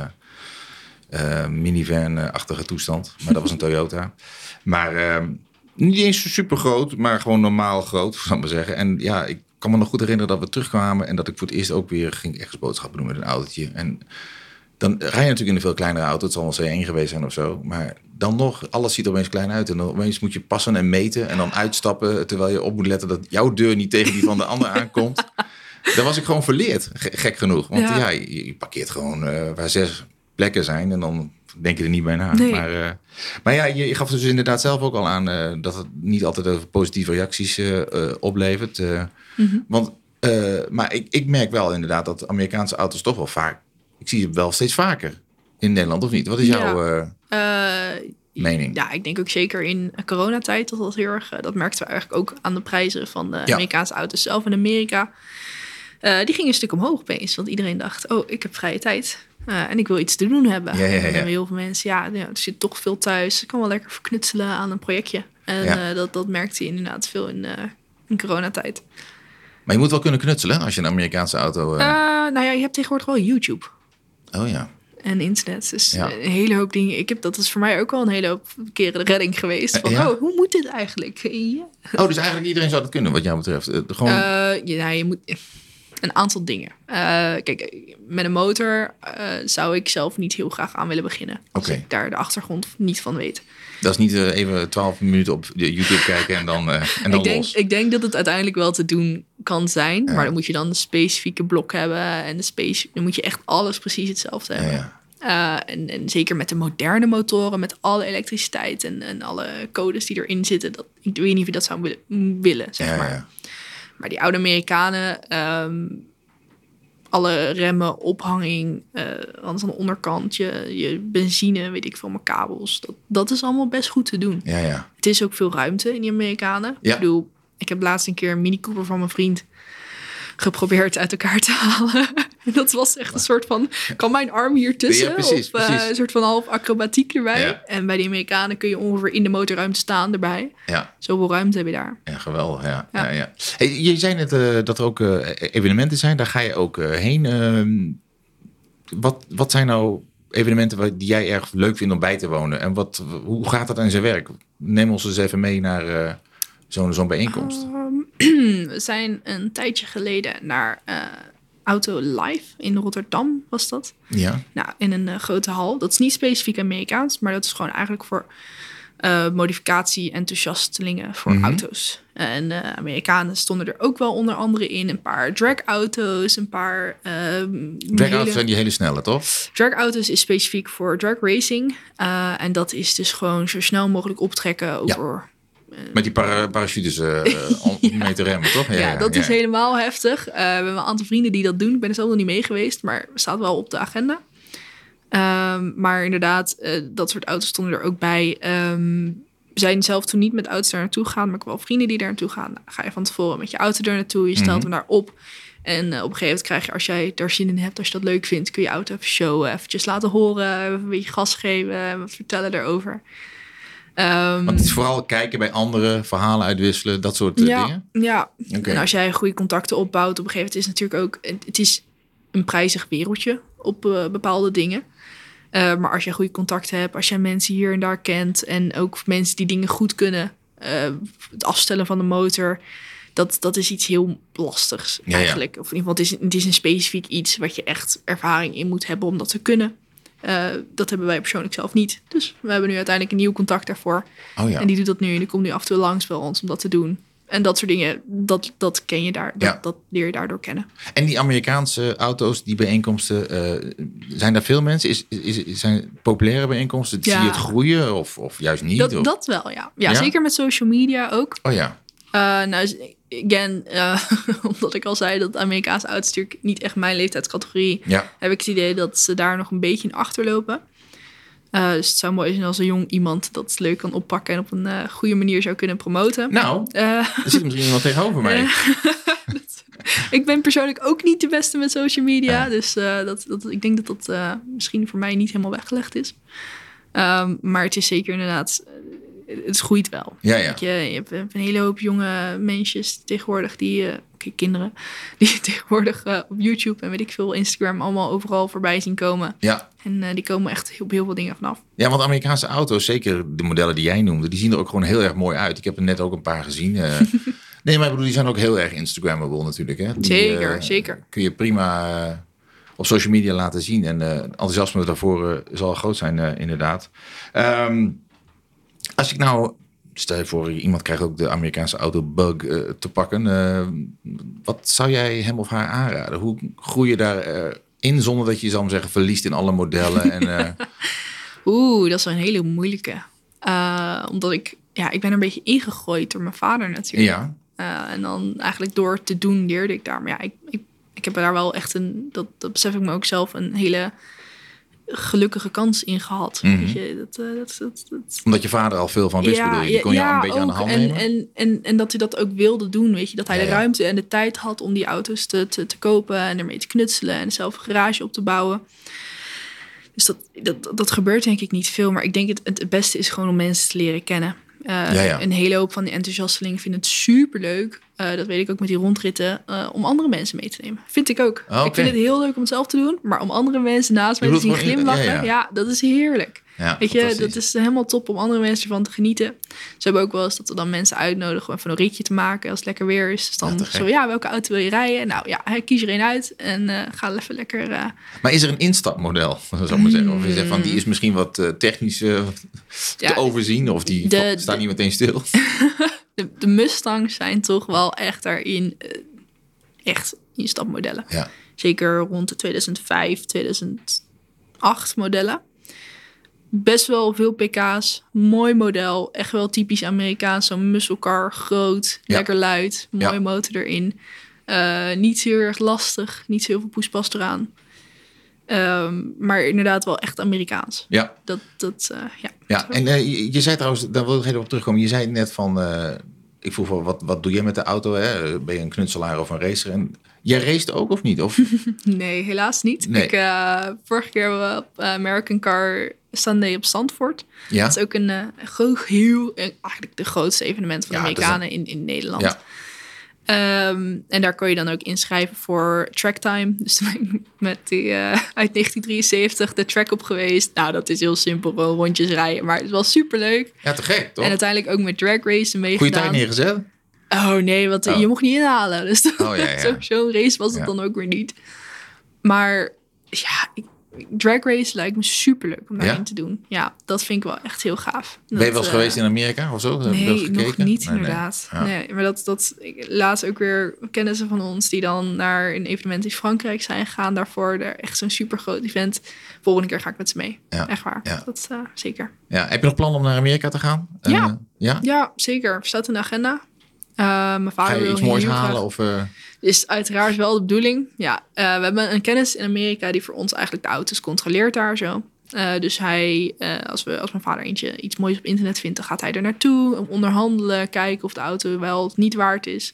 Uh, minivan-achtige toestand. Maar dat was een Toyota. Maar uh, niet eens super groot, maar gewoon normaal groot, zal ik maar zeggen. En ja, ik kan me nog goed herinneren dat we terugkwamen en dat ik voor het eerst ook weer ging ergens boodschappen doen met een autootje. En dan rij je natuurlijk in een veel kleinere auto. Het zal wel C één geweest zijn of zo. Maar dan nog, alles ziet er opeens klein uit. En dan opeens moet je passen en meten en dan uitstappen, terwijl je op moet letten dat jouw deur niet tegen die van de ander aankomt. Daar was ik gewoon verleerd, gek genoeg. Want ja, ja je, je parkeert gewoon uh, waar zes plekken zijn en dan denk je er niet bij na. Nee. Maar, uh, maar ja, je, je gaf dus inderdaad zelf ook al aan uh, dat het niet altijd positieve reacties uh, uh, oplevert. Uh, mm-hmm. Want, uh, maar ik, ik merk wel inderdaad dat Amerikaanse auto's toch wel vaak, ik zie ze wel steeds vaker in Nederland of niet? Wat is jouw ja. uh, uh, mening? Ja, ik denk ook zeker in coronatijd dat dat heel erg, uh, dat merkten we eigenlijk ook aan de prijzen van de ja. Amerikaanse auto's zelf in Amerika. Uh, die gingen een stuk omhoog opeens, want iedereen dacht, oh, ik heb vrije tijd. Uh, en ik wil iets te doen hebben. Ja, ja, ja. En heel veel mensen, ja, ja, er zit toch veel thuis. Ik kan wel lekker verknutselen aan een projectje. En ja. uh, dat, dat merkte je inderdaad veel in, uh, in coronatijd. Maar je moet wel kunnen knutselen als je een Amerikaanse auto... Uh... Uh, nou ja, je hebt tegenwoordig wel YouTube. Oh ja. En internet. Dus ja. een hele hoop dingen. Ik heb, dat is voor mij ook wel een hele hoop keren de redding geweest. Van, ja. oh, hoe moet dit eigenlijk? Ja. Oh, dus eigenlijk iedereen zou dat kunnen wat jou betreft? Uh, gewoon... uh, ja, je moet... Een aantal dingen. Uh, kijk, met een motor uh, zou ik zelf niet heel graag aan willen beginnen. Als okay. ik daar de achtergrond niet van weet. Dat is niet uh, even twaalf minuten op YouTube kijken en dan, uh, en dan ik denk, los. Ik denk dat het uiteindelijk wel te doen kan zijn. Ja. Maar dan moet je dan de specifieke blok hebben. En de speci- dan moet je echt alles precies hetzelfde hebben. Ja, ja. Uh, en, en zeker met de moderne motoren, met alle elektriciteit en, en alle codes die erin zitten. Dat, ik weet niet of je dat zou willen, willen zeg ja, maar. Ja. Maar die oude Amerikanen, um, alle remmen, ophanging, uh, anders aan de onderkant, je, je benzine, weet ik veel, mijn kabels. Dat, dat is allemaal best goed te doen. Ja, ja. Het is ook veel ruimte in die Amerikanen. Ja. Ik bedoel, ik heb laatst een keer een Mini Cooper van mijn vriend geprobeerd uit elkaar te halen. En dat was echt een soort van, kan mijn arm hier tussen? Ja, precies, of uh, precies. een soort van half acrobatiek erbij. Ja. En bij de Amerikanen kun je ongeveer in de motorruimte staan erbij. Ja. Zoveel ruimte heb je daar. Ja, geweldig. Ja. Ja. Ja. Ja, ja. Hey, je zei net uh, dat er ook uh, evenementen zijn. Daar ga je ook uh, heen. Uh, wat, wat zijn nou evenementen die jij erg leuk vindt om bij te wonen? En wat, hoe gaat dat aan zijn werk? Neem ons eens even mee naar uh, zo'n, zo'n bijeenkomst. Um, we zijn een tijdje geleden naar uh, Auto Live in Rotterdam, was dat. Ja. Nou, in een uh, grote hal. Dat is niet specifiek Amerikaans, maar dat is gewoon eigenlijk voor uh, modificatie-enthousiastelingen voor Mm-hmm. auto's. En uh, Amerikanen stonden er ook wel onder andere in. Een paar dragauto's, een paar... Uh, Dragauto's hele... zijn die hele snelle, toch? Dragauto's is specifiek voor drag racing. Uh, en dat is dus gewoon zo snel mogelijk optrekken over... Ja. Met die para- parachutes uh, om ja. mee te remmen, toch? Ja, ja, ja dat ja. is helemaal heftig. Uh, we hebben een aantal vrienden die dat doen. Ik ben er zelf nog niet mee geweest, maar het staat wel op de agenda. Um, maar inderdaad, uh, dat soort auto's stonden er ook bij. Um, we zijn zelf toen niet met auto's daar naartoe gegaan, maar ik heb wel vrienden die daar naartoe gaan. Nou, ga je van tevoren met je auto er naartoe, je stelt mm-hmm. hem daar op. En uh, op een gegeven moment krijg je, als jij daar zin in hebt, als je dat leuk vindt, kun je je auto even showen, eventjes laten horen, even een beetje gas geven, wat vertellen erover. Um, Want het is vooral kijken bij anderen, verhalen uitwisselen, dat soort uh, ja, dingen? Ja, okay. En als jij goede contacten opbouwt, op een gegeven moment is het natuurlijk ook... Het is een prijzig wereldje op uh, bepaalde dingen. Uh, maar als jij goede contacten hebt, als jij mensen hier en daar kent... en ook mensen die dingen goed kunnen, uh, het afstellen van de motor... Dat, dat is iets heel lastigs ja, eigenlijk. Ja. Of in ieder geval, het is, het is een specifiek iets... wat je echt ervaring in moet hebben om dat te kunnen... Uh, dat hebben wij persoonlijk zelf niet. Dus we hebben nu uiteindelijk een nieuw contact daarvoor. Oh ja. En die doet dat nu. En die komt nu af en toe langs bij ons om dat te doen. En dat soort dingen, dat, dat ken je daar. Dat, ja. dat leer je daardoor kennen. En die Amerikaanse auto's, die bijeenkomsten, uh, zijn daar veel mensen? Is, is, zijn populaire bijeenkomsten? Ja. Zie je het groeien of, of juist niet? Dat, of? dat wel, ja. ja. Ja, zeker met social media ook. Oh ja. Uh, nou, again, uh, omdat ik al zei dat Amerikaanse auto's natuurlijk niet echt mijn leeftijdscategorie... Ja. heb ik het idee dat ze daar nog een beetje in achterlopen. Uh, dus het zou mooi zijn als een jong iemand dat leuk kan oppakken... en op een uh, goede manier zou kunnen promoten. Nou, uh, er zit misschien iemand tegenover mij. Uh, dat, ik ben persoonlijk ook niet de beste met social media. Ja. Dus uh, dat, dat, ik denk dat dat uh, misschien voor mij niet helemaal weggelegd is. Um, maar het is zeker inderdaad... Het groeit wel. Ja, ja. Je, je hebt een hele hoop jonge mensjes tegenwoordig die, uh, okay, kinderen, die tegenwoordig uh, op YouTube en weet ik veel, Instagram allemaal overal voorbij zien komen. Ja. En uh, die komen echt heel, heel veel dingen vanaf. Ja, want Amerikaanse auto's, zeker de modellen die jij noemde, die zien er ook gewoon heel erg mooi uit. Ik heb er net ook een paar gezien. Uh, nee, maar ik bedoel, die zijn ook heel erg Instagrammable natuurlijk. Hè? Die, zeker, uh, zeker. Kun je prima uh, op social media laten zien. En uh, enthousiasme daarvoor uh, zal groot zijn, uh, inderdaad. Um, Als ik nou, stel je voor, iemand krijgt ook de Amerikaanse autobug uh, te pakken. Uh, wat zou jij hem of haar aanraden? Hoe groei je daarin uh, zonder dat je, zal maar zeggen, verliest in alle modellen? En, uh... Oeh, dat is wel een hele moeilijke. Uh, omdat ik, ja, ik ben er een beetje ingegooid door mijn vader natuurlijk. Ja. Uh, en dan eigenlijk door te doen leerde ik daar. Maar ja, ik, ik, ik heb daar wel echt een, dat, dat besef ik me ook zelf, een hele... gelukkige kans in gehad. Mm-hmm. Weet je, dat, uh, dat, dat, dat... Omdat je vader al veel van wist, ja, bedoel je? Die kon je ja, al een beetje ook. aan de hand en, nemen? En, en, en dat hij dat ook wilde doen, weet je. Dat hij ja, de ruimte ja. en de tijd had om die auto's te, te, te kopen... en ermee te knutselen en zelf een garage op te bouwen. Dus dat, dat, dat gebeurt denk ik niet veel. Maar ik denk het, het beste is gewoon om mensen te leren kennen. Uh, ja, ja. Een hele hoop van die enthousiastelingen vinden het superleuk. Uh, dat weet ik ook met die rondritten. Uh, om andere mensen mee te nemen. Vind ik ook. Okay. Ik vind het heel leuk om het zelf te doen. Maar om andere mensen naast mij te zien glimlachen. Ja, ja. ja, dat is heerlijk. Ja, weet je, dat is helemaal top om andere mensen ervan te genieten. Ze hebben ook wel eens dat we dan mensen uitnodigen om even een ritje te maken als het lekker weer is. Dus dan ja, zo, ja, welke auto wil je rijden? Nou ja, kies er een uit en uh, ga even lekker... Uh... Maar is er een instapmodel, zou ik maar zeggen? Of is er van, die is misschien wat uh, technisch uh, te ja, overzien? Of die de, staat de, niet meteen stil? de, de Mustangs zijn toch wel echt daarin uh, echt instapmodellen. Ja. Zeker rond de tweeduizend vijf, tweeduizend acht modellen. Best wel veel pk's, mooi model, echt wel typisch Amerikaans, zo'n muscle car, groot, ja. lekker luid, mooie ja. motor erin. Uh, niet heel erg lastig, niet zo heel veel poespas eraan. Um, maar inderdaad wel echt Amerikaans. Ja. Dat, dat, uh, ja. Ja, en uh, je, je zei trouwens, daar wil ik even op terugkomen, je zei net van, uh, ik vroeg wel, wat, wat doe jij met de auto? Hè? Ben je een knutselaar of een racer? En jij raced ook of niet? Of? Nee, helaas niet. Nee. Ik, uh, vorige keer hebben we op uh, American Car Sunday op Zandvoort. Ja? Dat is ook een uh, groot, heel, uh, eigenlijk de grootste evenement van Ja, de Amerikanen een... in, in Nederland. Ja. Um, en daar kon je dan ook inschrijven voor tracktime. Dus toen ben ik met die uh, uit negentien drieënzeventig de track op geweest. Nou, dat is heel simpel, gewoon rondjes rijden. Maar het was superleuk. Ja, te gek, toch? En uiteindelijk ook met drag racen meegedaan. Goeie tijd neergezet? Oh nee, want oh. je mocht niet inhalen. Dus oh, ja, ja. Zo, zo'n race was het ja. dan ook weer niet. Maar ja, ik, drag race lijkt me superleuk om daarin ja? te doen. Ja, dat vind ik wel echt heel gaaf. Ben je wel eens uh, geweest in Amerika of zo? Nee, nog niet nee, inderdaad. Nee. Ja. Nee, maar dat, dat, ik, laatst ook weer kennissen van ons die dan naar een evenement in Frankrijk zijn gegaan. Daarvoor daar echt zo'n super groot event. Volgende keer ga ik met ze mee. Ja. Echt waar. Ja. Dat uh, zeker. Ja. Heb je nog plannen om naar Amerika te gaan? Ja, uh, ja? ja zeker. Staat in de agenda. Uh, mijn vader Ga je wil iets moois halen? Graag... Of, uh... Is uiteraard wel de bedoeling. Ja, uh, we hebben een kennis in Amerika die voor ons eigenlijk de auto's controleert daar zo. Uh, dus hij, uh, als, we, als mijn vader eentje iets moois op internet vindt, dan gaat hij er naartoe. Onderhandelen, kijken of de auto wel of niet waard is.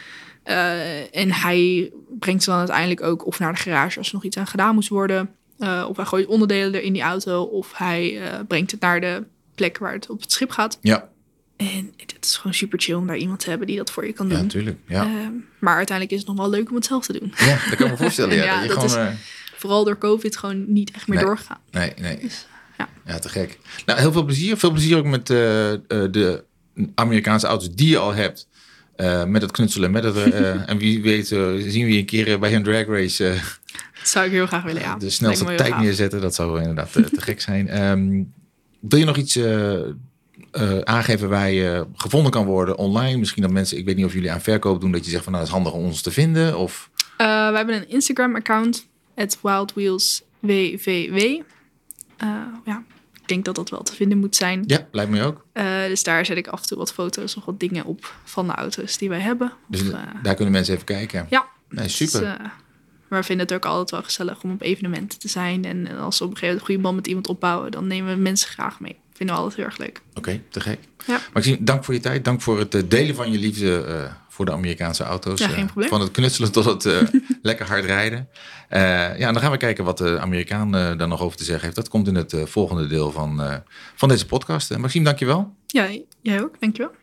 Uh, en hij brengt ze dan uiteindelijk ook of naar de garage als er nog iets aan gedaan moest worden. Uh, of hij gooit onderdelen er in die auto. Of hij uh, brengt het naar de plek waar het op het schip gaat. Ja. En het is gewoon super chill om daar iemand te hebben die dat voor je kan doen. Ja, natuurlijk. Ja. Uh, maar uiteindelijk is het nog wel leuk om het zelf te doen. Ja, dat kan ik me voorstellen. Ja, ja, dat je dat gewoon, is uh... vooral door COVID gewoon niet echt meer nee, doorgegaan. Nee, nee. Dus, ja. ja, te gek. Nou, heel veel plezier. Veel plezier ook met uh, uh, de Amerikaanse auto's die je al hebt. Uh, met het knutselen. Met het, uh, en wie weet uh, zien we je een keer bij een drag race. Uh, dat zou ik heel graag willen, ja. De snelste tijd gaaf. neerzetten. Dat zou inderdaad te, te gek zijn. Um, wil je nog iets... Uh, Uh, aangeven waar je gevonden kan worden online. Misschien dat mensen, ik weet niet of jullie aan verkoop doen, dat je zegt van nou, dat is handig om ons te vinden. Of... Uh, we hebben een Instagram-account, at wildwheelswvw. Uh, ja, ik denk dat dat wel te vinden moet zijn. Ja, lijkt me ook. Uh, dus daar zet ik af en toe wat foto's of wat dingen op van de auto's die wij hebben. Dus of, uh, daar kunnen mensen even kijken. Ja. Nee, super. Dus, uh, maar we vinden het ook altijd wel gezellig om op evenementen te zijn. En als we op een gegeven moment een goede band met iemand opbouwen, dan nemen we mensen graag mee. Vinden we altijd heel erg leuk. Oké, okay, te gek. Ja. Maxime, dank voor je tijd. Dank voor het delen van je liefde uh, voor de Amerikaanse auto's. Ja, geen probleem. Uh, van het knutselen tot het uh, lekker hard rijden. Uh, ja, en dan gaan we kijken wat de Amerikaan uh, daar nog over te zeggen heeft. Dat komt in het uh, volgende deel van, uh, van deze podcast. Uh, Maxime, dank je wel. Ja, jij ook. Dank je wel.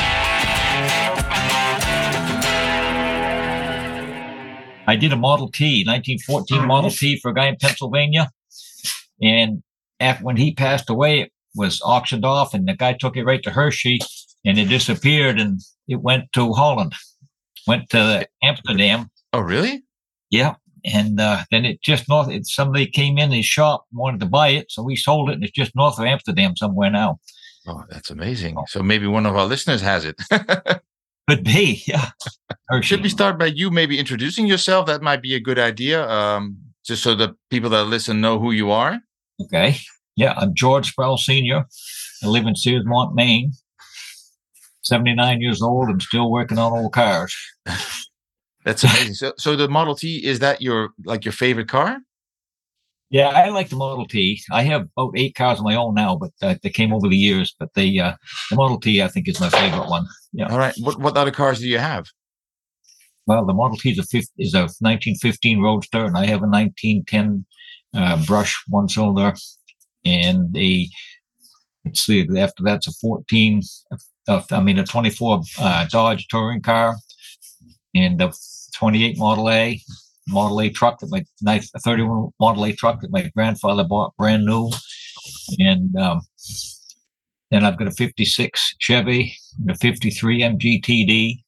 I did a Model T, nineteen fourteen Model T for a guy in Pennsylvania. And after, when he passed away, it was auctioned off and the guy took it right to Hershey and it disappeared and it went to Holland, went to Amsterdam. Oh, really? Yeah. And uh, then it just north, it, somebody came in his shop, wanted to buy it. So we sold it and it's just north of Amsterdam somewhere now. Oh, that's amazing. So maybe one of our listeners has it. Could be, yeah. Should we start by you maybe introducing yourself? That might be a good idea. Um, just so the people that listen know who you are. Okay. Yeah, I'm George Sproul Senior I live in Searsmont, Maine. seventy-nine years old and still working on old cars. That's amazing. So, so the Model T, is that your like your favorite car? Yeah, I like the Model T. I have about eight cars of my own now, but uh, they came over the years. But the uh, the Model T, I think, is my favorite one. Yeah. All right. What what other cars do you have? Well, the Model T is a fifth, is a nineteen fifteen Roadster, and I have a nineteen ten uh, Brush one cylinder, and a let's see, after that's a fourteen. Uh, I mean, a twenty-four uh, Dodge touring car, and a twenty-eight Model A. Model A truck that my nice thirty-one Model A truck that my grandfather bought brand new, and um, then I've got a fifty-six Chevy, and a fifty-three M G T D,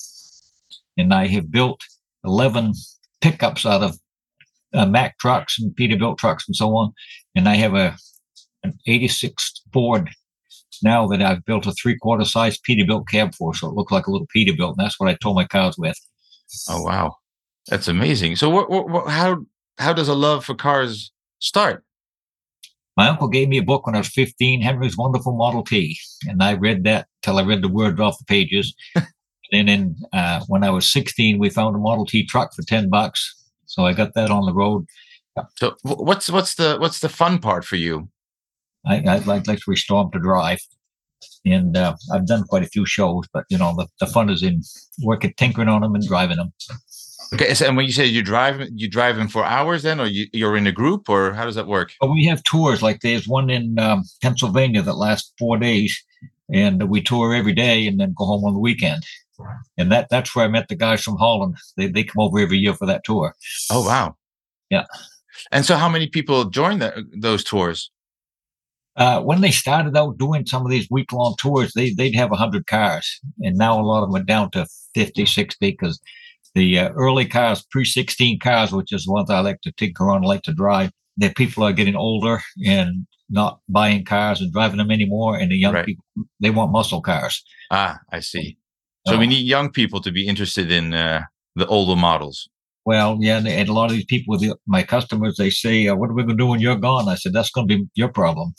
and I have built eleven pickups out of uh, Mack trucks and Peterbilt trucks and so on, and I have a an eighty-six Ford now that I've built a three-quarter size Peterbilt cab for, so it looks like a little Peterbilt, and that's what I tow my cars with. Oh wow. That's amazing. So, what, what, what, how, how does a love for cars start? My uncle gave me a book when I was fifteen, Henry's Wonderful Model T, and I read that till I read the words off the pages. And then, uh, when I was sixteen, we found a Model T truck for ten bucks, so I got that on the road. So, what's what's the what's the fun part for you? I, I'd like, like to restore them to drive. And uh, I've done quite a few shows, but you know, the, the fun is in working, tinkering on them and driving them. Okay, so and when you say you drive, you drive them for hours then, or you, you're in a group, or how does that work? But we have tours. Like there's one in um, Pennsylvania that lasts four days, and we tour every day and then go home on the weekend. And that that's where I met the guys from Holland. They they come over every year for that tour. Oh wow! Yeah. And so, how many people join that, those tours? Uh, when they started out doing some of these week long tours, they they'd have a hundred cars, and now a lot of them are down to fifty, sixty because. The uh, early cars, pre sixteen cars, which is ones I like to tinker on, like to drive, the people are getting older and not buying cars and driving them anymore. And the young right. people, they want muscle cars. Ah, I see. So uh, we need young people to be interested in uh, the older models. Well, yeah, and, and a lot of these people, the, my customers, they say, uh, what are we going to do when you're gone? I said, that's going to be your problem.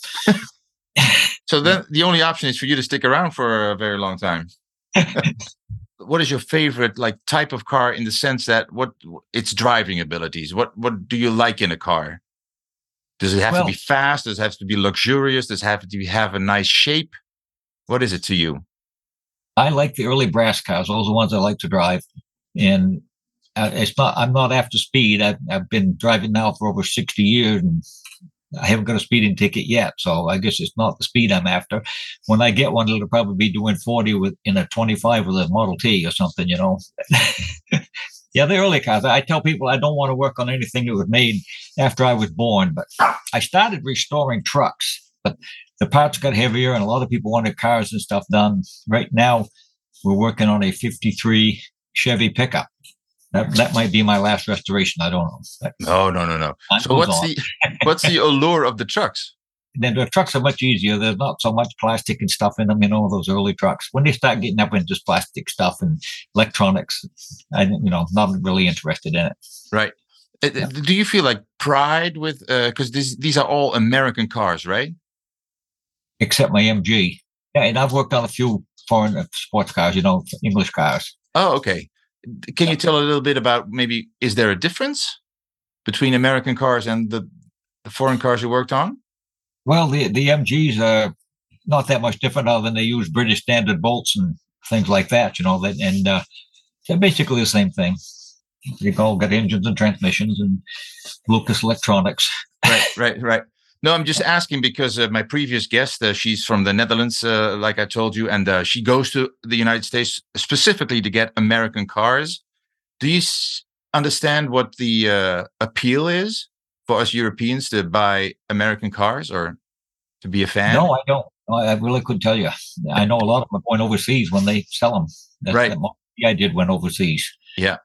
So then yeah. the only option is for you to stick around for a very long time. What is your favorite like type of car in the sense that what its driving abilities? What what do you like in a car? Does it have well, to be fast? Does it have to be luxurious? Does it have to be, have a nice shape? What is it to you? I like the early brass cars. Those are the ones I like to drive. And uh, it's not. I'm not after speed. I've I've been driving now for over sixty years, and I haven't got a speeding ticket yet, so I guess it's not the speed I'm after. When I get one, it'll probably be doing forty with in a twenty-five with a Model T or something, you know. Yeah, the early cars. I tell people I don't want to work on anything that was made after I was born, but I started restoring trucks, but the parts got heavier, and a lot of people wanted cars and stuff done. Right now, we're working on a fifty-three Chevy pickup. That that might be my last restoration. I don't know. No, no, no, no. So what's on. the what's the allure of the trucks? Then the trucks are much easier. There's not so much plastic and stuff in them. You know, those early trucks. When they start getting up into this plastic stuff and electronics, I you know not really interested in it. Right. Yeah. Do you feel like pride with because uh, these these are all American cars, right? Except my M G. Yeah, and I've worked on a few foreign sports cars. You know, English cars. Oh, okay. Can you tell a little bit about maybe, is there a difference between American cars and the, the foreign cars you worked on? Well, the, the M Gs are not that much different other than they use British standard bolts and things like that, you know, that, and uh, they're basically the same thing. They've all got engines and transmissions and Lucas Electronics. Right, right, right. No, I'm just asking because uh, my previous guest, uh, she's from the Netherlands, uh, like I told you, and uh, she goes to the United States specifically to get American cars. Do you s- understand what the uh, appeal is for us Europeans to buy American cars or to be a fan? No, I don't. I really couldn't tell you. I know a lot of them are going overseas when they sell them. That's right. The I did went overseas. Yeah.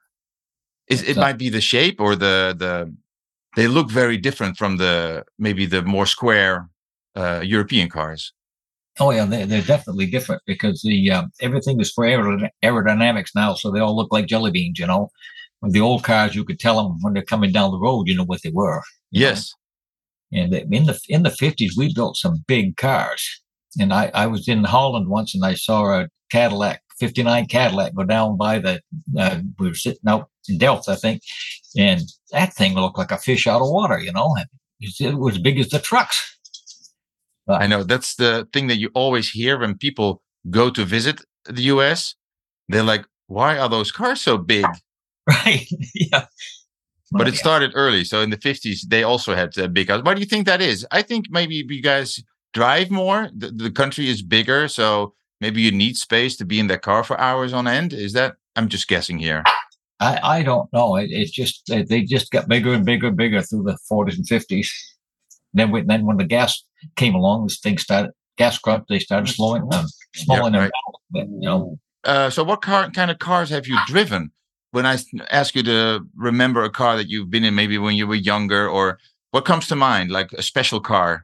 Is, it uh, might be the shape or the the... They look very different from the maybe the more square uh, European cars. Oh yeah, they, they're definitely different because the uh, everything is for aerodyn- aerodynamics now, so they all look like jelly beans. You know, with the old cars, you could tell them when they're coming down the road. You know what they were. Yes. Know? And in the in the fifties, we built some big cars. And I, I was in Holland once, and I saw a Cadillac, fifty-nine Cadillac, go down by the. Uh, we were sitting out in Delft, I think. And that thing looked like a fish out of water, you know. It was as big as the trucks. But I know that's the thing that you always hear when people go to visit the U S. They're like, why are those cars so big? Right. Yeah. But well, it yeah. started early. So in the fifties, they also had uh, big cars. Why do you think that is? I think maybe you guys drive more. The, the country is bigger. So maybe you need space to be in that car for hours on end. Is that? I'm just guessing here. I, I don't know. It, it's just they just got bigger and bigger and bigger through the forties and fifties. Then, we, then when the gas came along, this thing started gas crop. They started slowing down, slowing yeah, them right. down. But, you know. Uh, so, what car, kind of cars have you driven? When I ask you to remember a car that you've been in, maybe when you were younger, or what comes to mind, like a special car?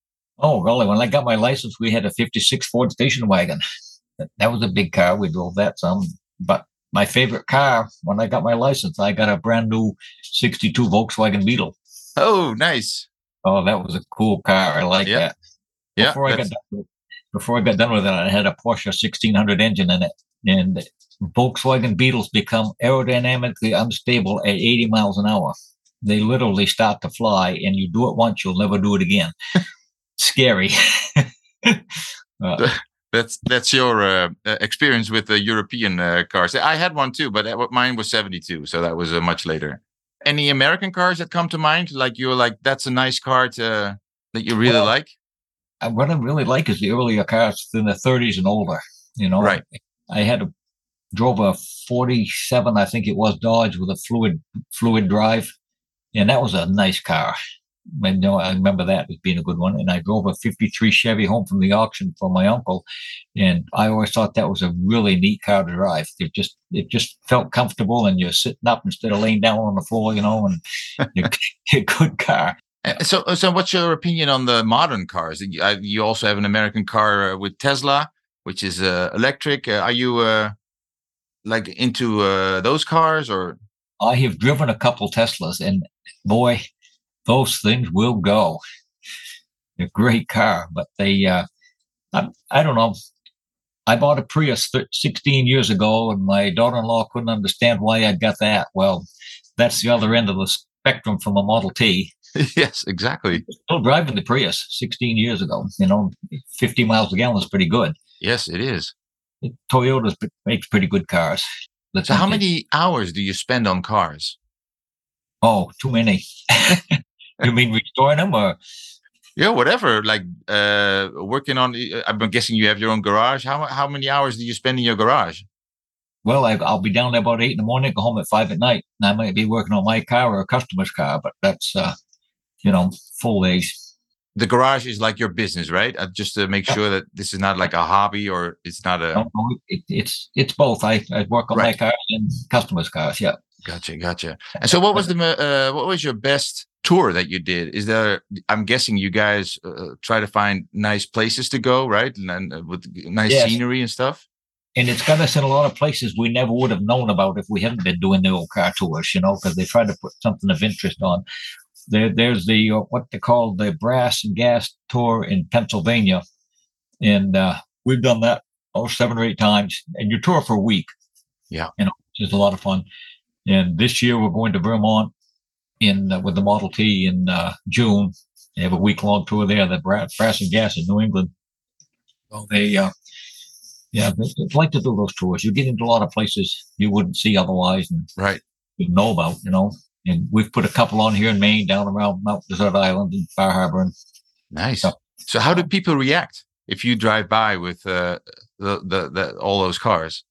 Oh, really? When I got my license, we had a fifty-six Ford station wagon. That was a big car. We drove that some, but. My favorite car, when I got my license, I got a brand new sixty-two Volkswagen Beetle. Oh, nice. Oh, that was a cool car. I like yeah. that. Yeah. Before I, got done with, before I got done with it, I had a Porsche sixteen hundred engine in it. And Volkswagen Beetles become aerodynamically unstable at eighty miles an hour. They literally start to fly, and you do it once, you'll never do it again. Scary. uh, That's that's your uh, uh, experience with the European uh, cars. I had one too, but that, mine was seventy-two, so that was uh, much later. Any American cars that come to mind? Like you're like, that's a nice car to, that you really Well, like? Uh, What I really like is the earlier cars in the thirties and older. You know, Right. I had a drove a forty-seven, I think it was, Dodge with a fluid fluid drive, and that was a nice car. I know I remember that as being a good one. And I drove a fifty-three Chevy home from the auction for my uncle, and I always thought that was a really neat car to drive. It just it just felt comfortable, and you're sitting up instead of laying down on the floor, you know, and you're a good car. Uh, So, so what's your opinion on the modern cars? You, uh, you also have an American car uh, with Tesla, which is uh, electric. Uh, are you uh, like into uh, those cars, or? I have driven a couple Teslas, and boy, those things will go. They're a great car, but they, uh, I, I don't know. I bought a Prius th- sixteen years ago, and my daughter-in-law couldn't understand why I got that. Well, that's the other end of the spectrum from a Model T. Yes, exactly. Still driving the Prius sixteen years ago. You know, fifty miles a gallon is pretty good. Yes, it is. Toyota makes pretty good cars. Let's So how think it- many hours do you spend on cars? Oh, too many. You mean restoring them, or? Yeah, whatever. Like uh, working on. uh, I'm guessing you have your own garage. How how many hours do you spend in your garage? Well, I, I'll be down there about eight in the morning, go home at five at night, and I might be working on my car or a customer's car, but that's, uh, you know, full days. The garage is like your business, right? Uh, just to make Yeah. sure that this is not like a hobby, or it's not a. No, no, it, it's it's both. I, I work on Right. my cars and customers' cars. Yeah. Gotcha, gotcha. And so, what was the mo- uh, what was your best tour that you did? Is there? I'm guessing you guys uh, try to find nice places to go, right? And, and uh, with nice Yes. scenery and stuff. And it's got us in a lot of places we never would have known about if we hadn't been doing the old car tours, you know, because they try to put something of interest on. There, there's the uh, what they call the Brass and Gas Tour in Pennsylvania, and uh, we've done that oh seven or eight times. And you tour for a week, Yeah. you know, which is a lot of fun. And this year we're going to Vermont in uh, with the Model T in uh, June. They have a week long tour there. The Brass, Brass and Gas in New England. So they, uh, yeah, they, they like to do those tours. You get into a lot of places you wouldn't see otherwise, and Right. you know about, you know. And we've put a couple on here in Maine, down around Mount Desert Island and Far Harbor. And Nice. Yeah. So, how do people react if you drive by with uh, the, the the all those cars?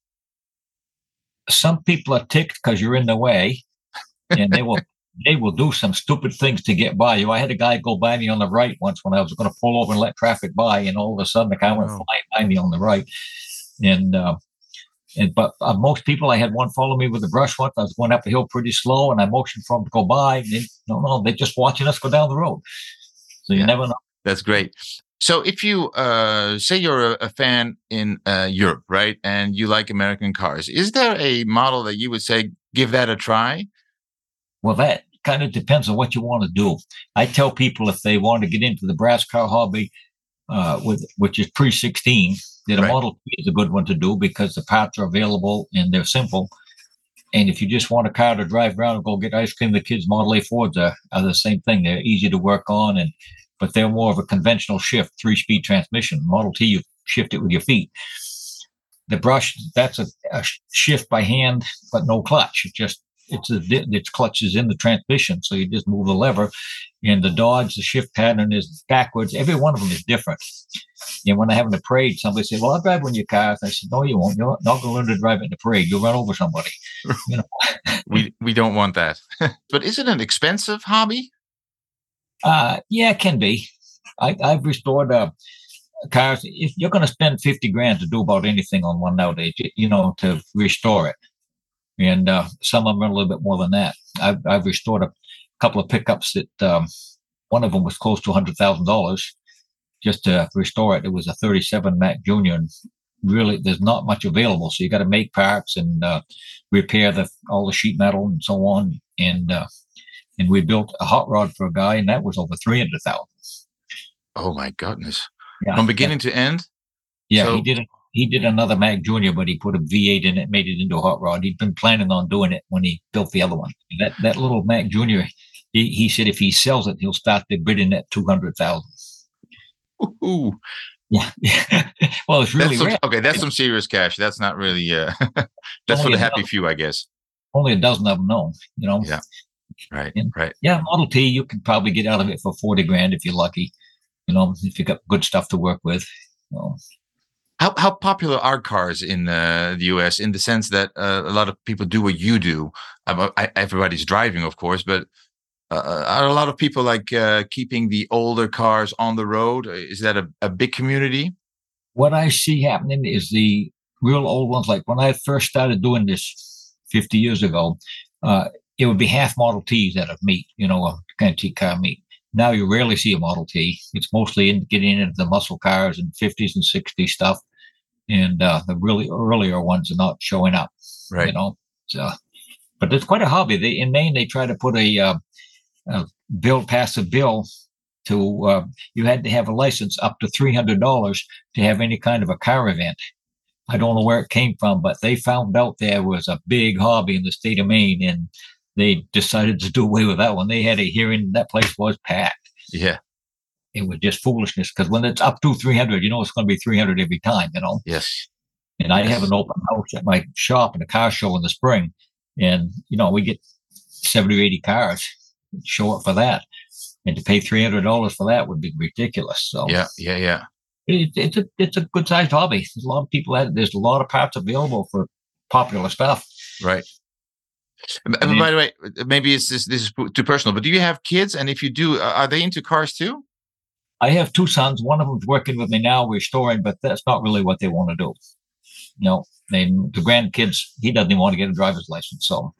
some people are ticked because you're in the way, and they will they will do some stupid things to get by you. I had a guy go by me on the right once when I was going to pull over and let traffic by, and all of a sudden the car went Wow. flying by me on the right. And uh, and but uh, most people, I had one follow me with a brush once. I was going up the hill pretty slow, and I motioned for him to go by. And they, no, no, they're just watching us go down the road. So you Yeah. never know. That's great. So if you uh, say you're a, a fan in uh, Europe, right, and you like American cars, is there a model that you would say give that a try? Well, that kind of depends on what you want to do. I tell people if they want to get into the brass car hobby, uh, with which is pre sixteen, that a Right. Model T is a good one to do because the parts are available and they're simple. And if you just want a car to drive around and go get ice cream, the kids' Model A Fords are, are the same thing. They're easy to work on, and but they're more of a conventional shift, three-speed transmission. Model T, you shift it with your feet. The brush, that's a, a shift by hand, but no clutch. It just it's a its clutch is in the transmission, so you just move the lever. And the Dodge, the shift pattern is backwards. Every one of them is different. And when I have in the parade, somebody said, "Well, I'll drive one of your cars." I said, "No, you won't. You're not going to learn to drive it in the parade. You'll run over somebody." You know. We we don't want that. But is it an expensive hobby? Uh, yeah, it can be. I, I've restored uh, cars. If you're going to spend fifty grand to do about anything on one nowadays, you, you know, to restore it, and uh, some of them are a little bit more than that. I've, I've restored a couple of pickups that um, one of them was close to one hundred thousand dollars just to restore it. It was a thirty-seven Mac Junior, and really, there's not much available. So you got to make parts and uh, repair the all the sheet metal and so on, and uh, and we built a hot rod for a guy, and that was over three hundred thousand. Oh my goodness! Yeah, From beginning to end. yeah, so- he did. A, he did another Mac Junior, but he put a V eight in it, made it into a hot rod. He'd been planning on doing it when he built the other one. That that little Mac Junior, he, he said if he sells it, he'll start the bidding at two hundred thousand. Ooh, Yeah. Well, it's really that's some, rare. Okay, that's some serious cash. That's not really. Uh, that's for the happy few, I guess. Only a dozen of them know. You know. Yeah. Right. And, right. Yeah, Model T, you can probably get out of it for forty grand if you're lucky. You know, if you got good stuff to work with. You know. How how popular are cars in uh, the U S in the sense that uh, a lot of people do what you do? Uh, I, everybody's driving, of course, but uh, are a lot of people like uh, keeping the older cars on the road? Is that a, a big community? What I see happening is the real old ones. Like when I first started doing this fifty years ago, uh, it would be half Model Ts at a meet, you know, a antique car meet. Now you rarely see a Model T. It's mostly in getting into the muscle cars and fifties and sixties stuff. And uh, the really earlier ones are not showing up, right? You know, so, but it's quite a hobby. They in Maine they try to put a, uh, a bill, pass a bill to uh, you had to have a license up to three hundred dollars to have any kind of a car event. I don't know where it came from, but they found out there was a big hobby in the state of Maine, and they decided to do away with that one. They had a hearing; that place was packed. Yeah. It was just foolishness because when it's up to three hundred, you know, it's going to be three hundred every time, you know? Yes. And I yes. have an open house at my shop in a car show in the spring. And, you know, we get seventy or eighty cars show up for that. And to pay three hundred dollars for that would be ridiculous. So, yeah, yeah, yeah. It, it's a it's a good sized hobby. There's a lot of people at it. There's a lot of parts available for popular stuff. Right. And and by the way, maybe it's this, this is too personal, but do you have kids? And if you do, are they into cars too? I have two sons. One of them's working with me now, restoring, but that's not really what they want to do. You know, they, the grandkids, he doesn't even want to get a driver's license. So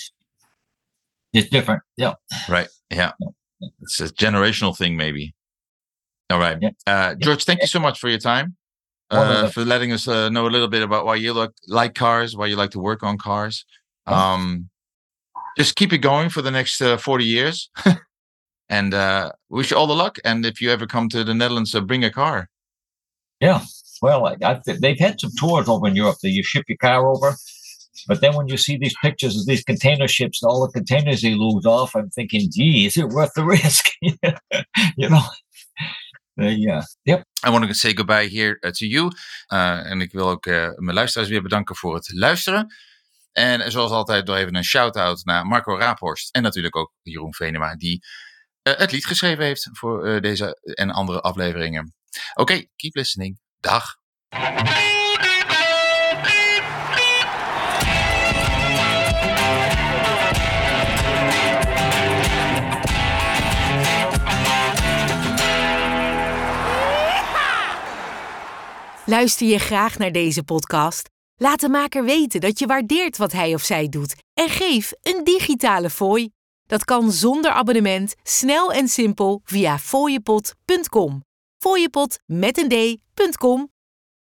it's different. Yeah. Right. Yeah. yeah. It's a generational thing, maybe. All right. Yeah. Uh, George, thank you so much for your time, uh, for letting us uh, know a little bit about why you look, like cars, why you like to work on cars. Um, just keep it going for the next uh, forty years. And uh, wish you all the luck. And if you ever come to the Netherlands, uh, bring a car. Yeah. Well, I, I, they've had some tours over in Europe that you ship your car over. But then when you see these pictures of these container ships and all the containers they lose off, I'm thinking, gee, is it worth the risk? You know? Uh, yeah. Yep. I want to say goodbye here uh, to you. Uh, en ik wil ook uh, mijn luisteraars weer bedanken voor het luisteren. En zoals altijd nog even een shout-out naar Marco Raaphorst. En natuurlijk ook Jeroen Venema, die Uh, het lied geschreven heeft voor uh, deze en andere afleveringen. Oké, okay, keep listening. Dag. Luister je graag naar deze podcast? Laat de maker weten dat je waardeert wat hij of zij doet en geef een digitale fooi. Dat kan zonder abonnement, snel en simpel via fooiepot punt com. Fooiepot met een d punt com.